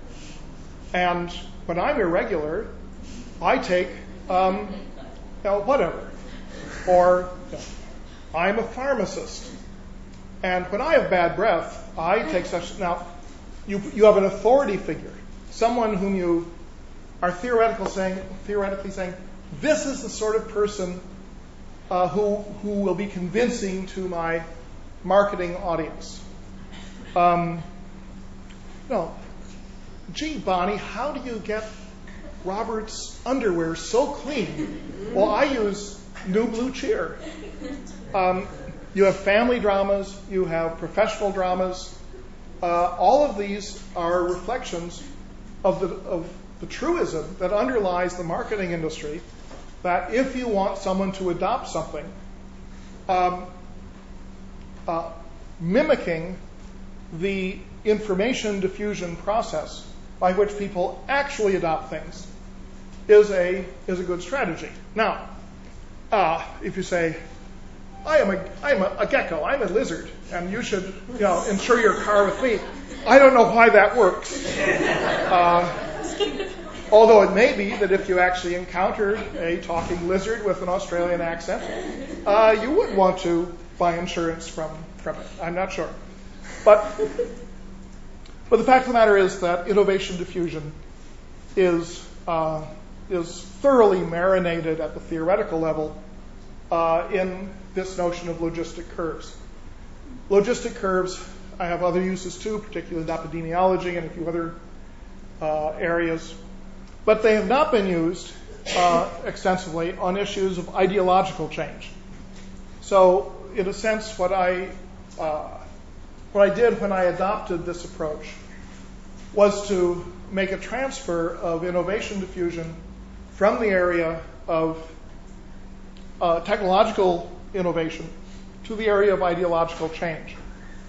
and when I'm irregular, I take, um, you know, whatever. Or, you know, I'm a pharmacist, and when I have bad breath, I take such. Now, you you have an authority figure, someone whom you are theoretical saying, theoretically saying, this is the sort of person uh, who who will be convincing to my marketing audience. Um, no, gee, Bonnie, how do you get Robert's underwear so clean? Well, I use New Blue Cheer. Um, you have family dramas, you have professional dramas. Uh, all of these are reflections of the of the truism that underlies the marketing industry, that if you want someone to adopt something, um, uh, mimicking the information diffusion process by which people actually adopt things is a is a good strategy. Now, uh, if you say, I am a I am a, a gecko, I'm a lizard, and you should you know insure your car with me, I don't know why that works. Uh, although it may be that if you actually encountered a talking lizard with an Australian accent, uh, you would want to buy insurance from from it. I'm not sure. But, but the fact of the matter is that innovation diffusion is uh, is thoroughly marinated at the theoretical level uh, in this notion of logistic curves. Logistic curves, I have other uses too, particularly in epidemiology and a few other uh, areas, but they have not been used uh, extensively on issues of ideological change. So, in a sense, what I uh, What I did when I adopted this approach was to make a transfer of innovation diffusion from the area of uh, technological innovation to the area of ideological change.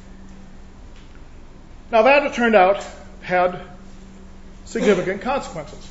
Now that, it turned out, had significant consequences.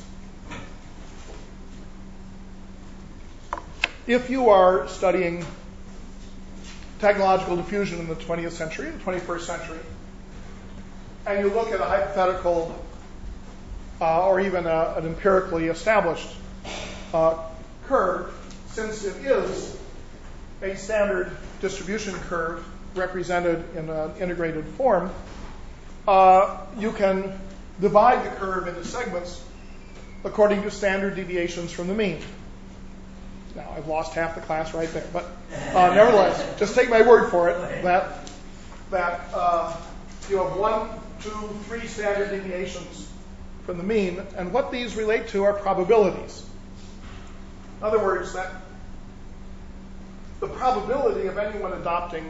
If you are studying technological diffusion in the twentieth century, the twenty-first century, and you look at a hypothetical uh, or even a, an empirically established uh, curve, since it is a standard distribution curve represented in an integrated form. Uh, you can divide the curve into segments according to standard deviations from the mean. Now, I've lost half the class right there, but uh, nevertheless, just take my word for it that that uh, you have one, two, three standard deviations from the mean, and what these relate to are probabilities. In other words, that the probability of anyone adopting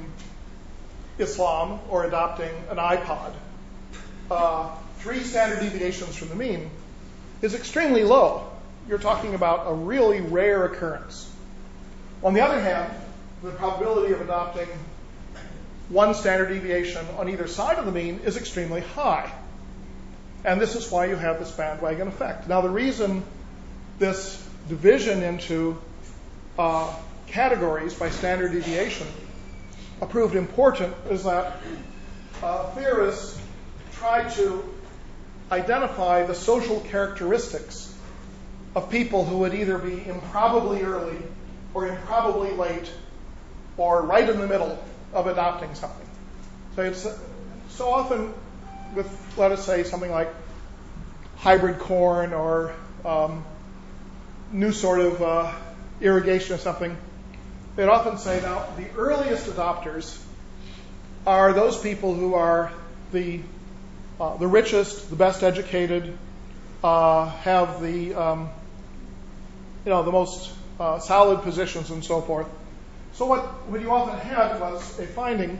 Islam or adopting an iPod, uh, three standard deviations from the mean, is extremely low. You're talking about a really rare occurrence. On the other hand, the probability of adopting one standard deviation on either side of the mean is extremely high. And this is why you have this bandwagon effect. Now, the reason this division into uh, categories by standard deviation proved important is that uh, theorists try to identify the social characteristics of people who would either be improbably early or improbably late or right in the middle of adopting something. So it's so often with, let us say, something like hybrid corn or um, new sort of uh, irrigation or something, they'd often say, now, the earliest adopters are those people who are the uh, the richest, the best educated, uh, have the um, you know the most uh, solid positions and so forth. So what, what you often had was a finding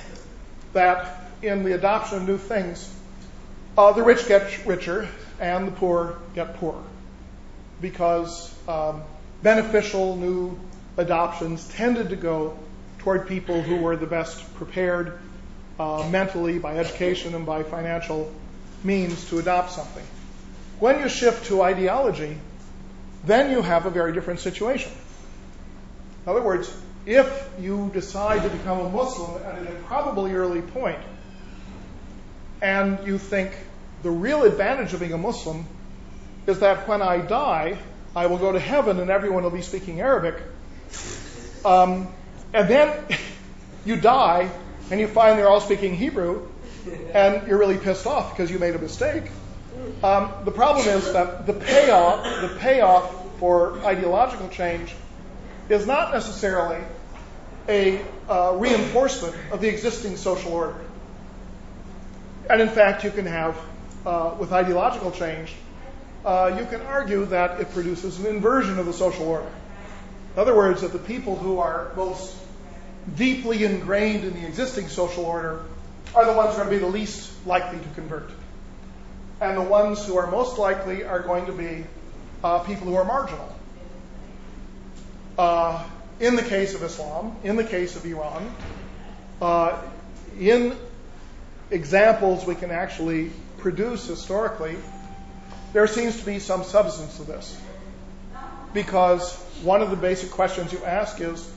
that in the adoption of new things, uh, the rich get richer and the poor get poorer, because um, beneficial new adoptions tended to go toward people who were the best prepared uh, mentally, by education and by financial means to adopt something. When you shift to ideology, then you have a very different situation. In other words, if you decide to become a Muslim at an improbably early point, and you think the real advantage of being a Muslim is that when I die, I will go to heaven and everyone will be speaking Arabic, um, and then you die and you find they're all speaking Hebrew, and you're really pissed off because you made a mistake. Um, the problem is that the payoff, the payoff for ideological change is not necessarily a uh, reinforcement of the existing social order. And in fact, you can have, uh, with ideological change, uh, you can argue that it produces an inversion of the social order. In other words, that the people who are most deeply ingrained in the existing social order are the ones who are going to be the least likely to convert. And the ones who are most likely are going to be uh, people who are marginal. Uh, in the case of Islam, in the case of Iran, uh, in examples we can actually produce historically, there seems to be some substance to this. Because one of the basic questions you ask is,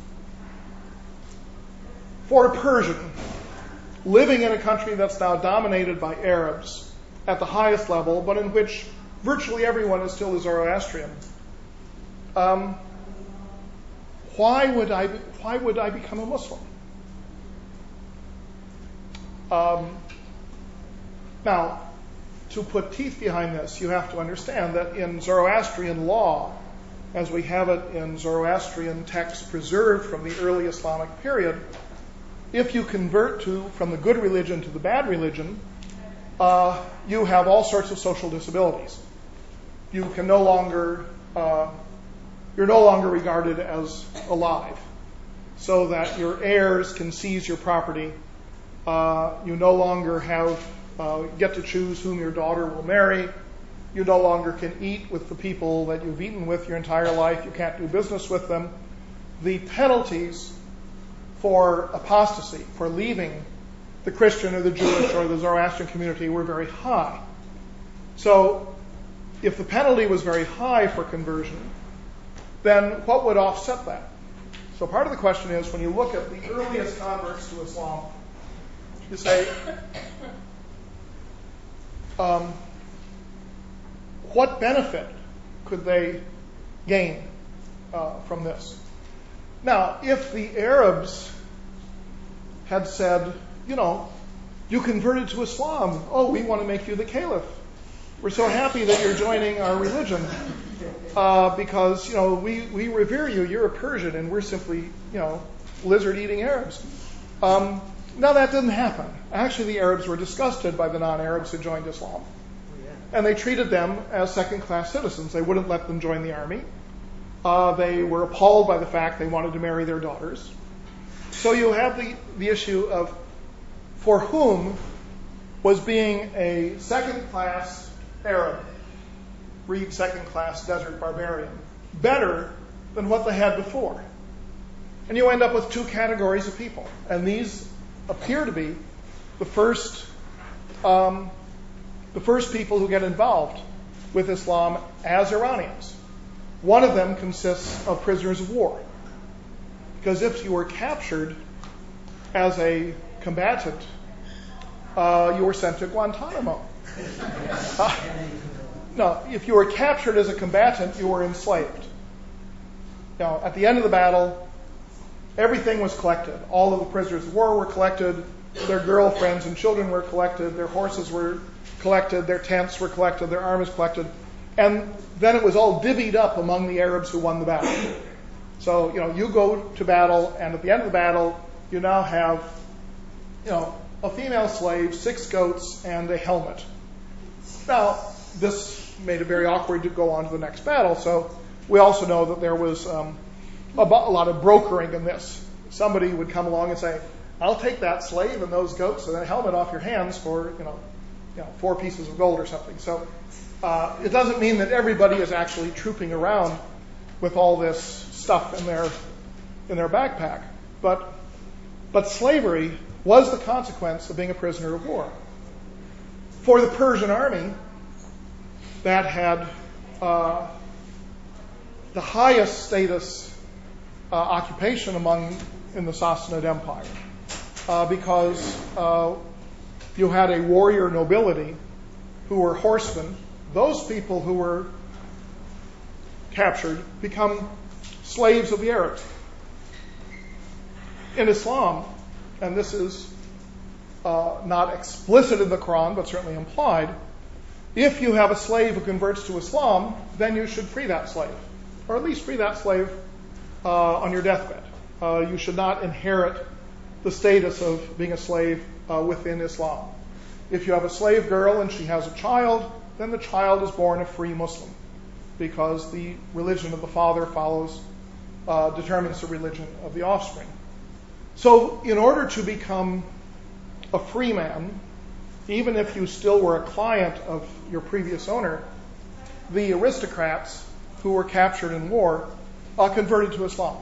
for a Persian living in a country that's now dominated by Arabs at the highest level, but in which virtually everyone is still a Zoroastrian, um, why would I be, why would I become a Muslim? Um, now, to put teeth behind this, you have to understand that in Zoroastrian law, as we have it in Zoroastrian texts preserved from the early Islamic period, if you convert to from the good religion to the bad religion, uh, you have all sorts of social disabilities. You can no longer, uh, you're no longer regarded as alive, so that your heirs can seize your property. Uh, you no longer have uh, get to choose whom your daughter will marry. You no longer can eat with the people that you've eaten with your entire life. You can't do business with them. The penalties for apostasy, for leaving the Christian or the Jewish or the Zoroastrian community, were very high. So if the penalty was very high for conversion, then what would offset that? So part of the question is, when you look at the earliest converts to Islam, you say, um, what benefit could they gain uh, from this? Now, if the Arabs had said, you know, you converted to Islam, oh, we want to make you the caliph. We're so happy that you're joining our religion uh, because, you know, we, we revere you. You're a Persian and we're simply, you know, lizard-eating Arabs. Um, now, that didn't happen. Actually, the Arabs were disgusted by the non-Arabs who joined Islam. And they treated them as second-class citizens. They wouldn't let them join the army. Uh, they were appalled by the fact they wanted to marry their daughters. So you have the, the issue of for whom was being a second-class Arab, read second-class desert barbarian, better than what they had before. And you end up with two categories of people. And these appear to be the first, um, the first people who get involved with Islam as Iranians. One of them consists of prisoners of war. Because if you were captured as a combatant, uh, you were sent to Guantanamo. Uh, no, if you were captured as a combatant, you were enslaved. Now, at the end of the battle, everything was collected. All of the prisoners of war were collected. Their girlfriends and children were collected. Their horses were collected. Their tents were collected. Their arms collected. And then it was all divvied up among the Arabs who won the battle. So, you know, you go to battle, and at the end of the battle, you now have, you know, a female slave, six goats, and a helmet. Now, this made it very awkward to go on to the next battle, so we also know that there was um, a, a lot of brokering in this. Somebody would come along and say, I'll take that slave and those goats and that helmet off your hands for, you know, you know, four pieces of gold or something. So uh, it doesn't mean that everybody is actually trooping around with all this stuff in their in their backpack. But but slavery was the consequence of being a prisoner of war. For the Persian army, that had uh, the highest status uh, occupation among in the Sassanid Empire, uh, because uh, you had a warrior nobility who were horsemen. Those people who were captured become slaves of the Arabs. In Islam, and this is uh, not explicit in the Quran, but certainly implied, if you have a slave who converts to Islam, then you should free that slave, or at least free that slave uh, on your deathbed. Uh, you should not inherit the status of being a slave uh, within Islam. If you have a slave girl and she has a child, then the child is born a free Muslim, because the religion of the father follows, uh, determines the religion of the offspring. So in order to become a free man, even if you still were a client of your previous owner, the aristocrats who were captured in war uh, converted to Islam.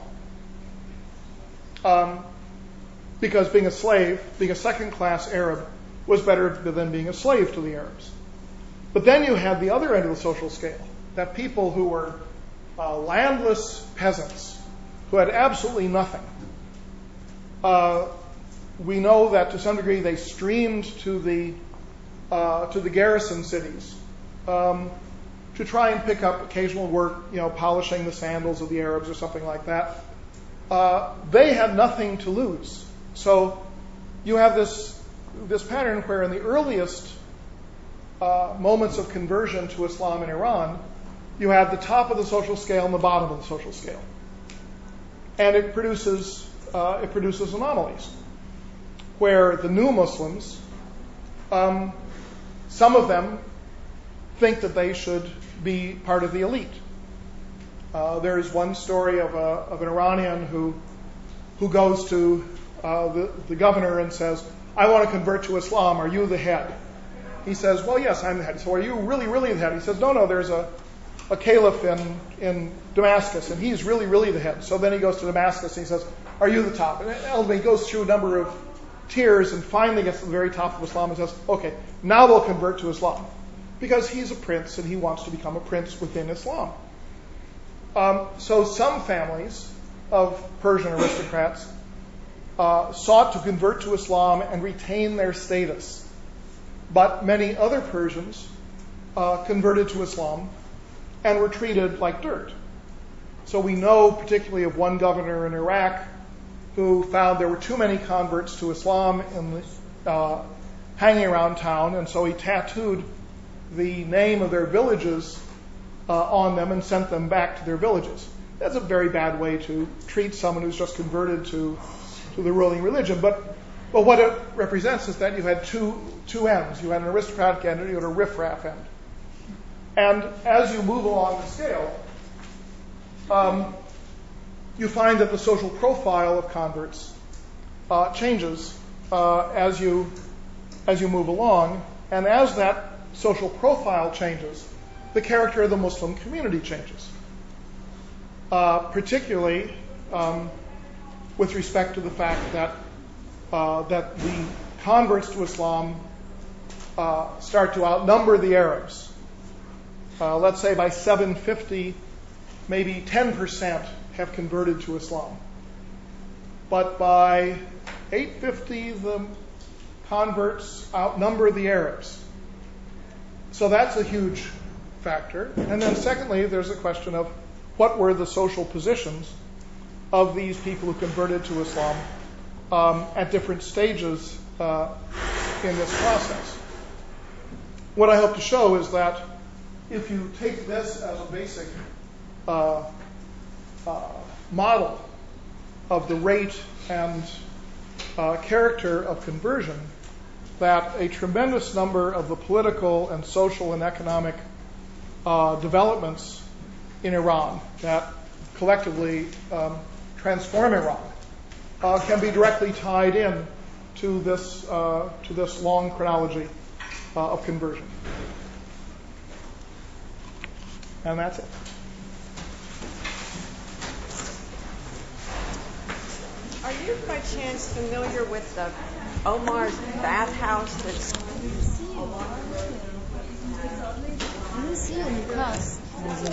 Um, because being a slave, being a second-class Arab, was better than being a slave to the Arabs. But then you had the other end of the social scale, that people who were uh, landless peasants, who had absolutely nothing. Uh, we know that to some degree they streamed to the uh, to the garrison cities um, to try and pick up occasional work, you know, polishing the sandals of the Arabs or something like that. Uh, they had nothing to lose. So you have this this pattern where in the earliest uh, moments of conversion to Islam in Iran, you have the top of the social scale and the bottom of the social scale, and it produces uh, it produces anomalies where the new Muslims, um, some of them think that they should be part of the elite. Uh, there is one story of, a, of an Iranian who who goes to uh, the, the governor and says, I want to convert to Islam. Are you the head? He says, well, yes, I'm the head. So are you really, really the head? He says, no, no, there's a, a caliph in, in Damascus, and he's really, really the head. So then he goes to Damascus and he says, are you the top? And he goes through a number of tiers and finally gets to the very top of Islam and says, okay, now we'll convert to Islam. Because he's a prince and he wants to become a prince within Islam. Um, so some families of Persian aristocrats uh, sought to convert to Islam and retain their status. But many other Persians uh, converted to Islam and were treated like dirt. So we know particularly of one governor in Iraq who found there were too many converts to Islam in the, uh, hanging around town, and so he tattooed the name of their villages uh, on them and sent them back to their villages. That's a very bad way to treat someone who's just converted to, to the ruling religion. But, but what it represents is that you had two, two ends. You had an aristocratic end and you had a riffraff end. And as you move along the scale, um, you find that the social profile of converts uh, changes uh, as you as you move along, and as that social profile changes, the character of the Muslim community changes, uh, particularly um, with respect to the fact that uh, that the converts to Islam uh, start to outnumber the Arabs. Uh, let's say by seven fifty, maybe ten percent have converted to Islam. But by eight fifty, the converts outnumber the Arabs. So that's a huge factor. And then secondly, there's a question of what were the social positions of these people who converted to Islam um, at different stages uh, in this process. What I hope to show is that if you take this as a basic uh, uh, model of the rate and uh, character of conversion, that a tremendous number of the political and social and economic uh, developments in Iran that collectively um, transform Iran uh, can be directly tied in to this uh, to this long chronology uh, of conversion. And that's it. Are you by chance familiar with the Omar's bathhouse that's I didn't see it in the class.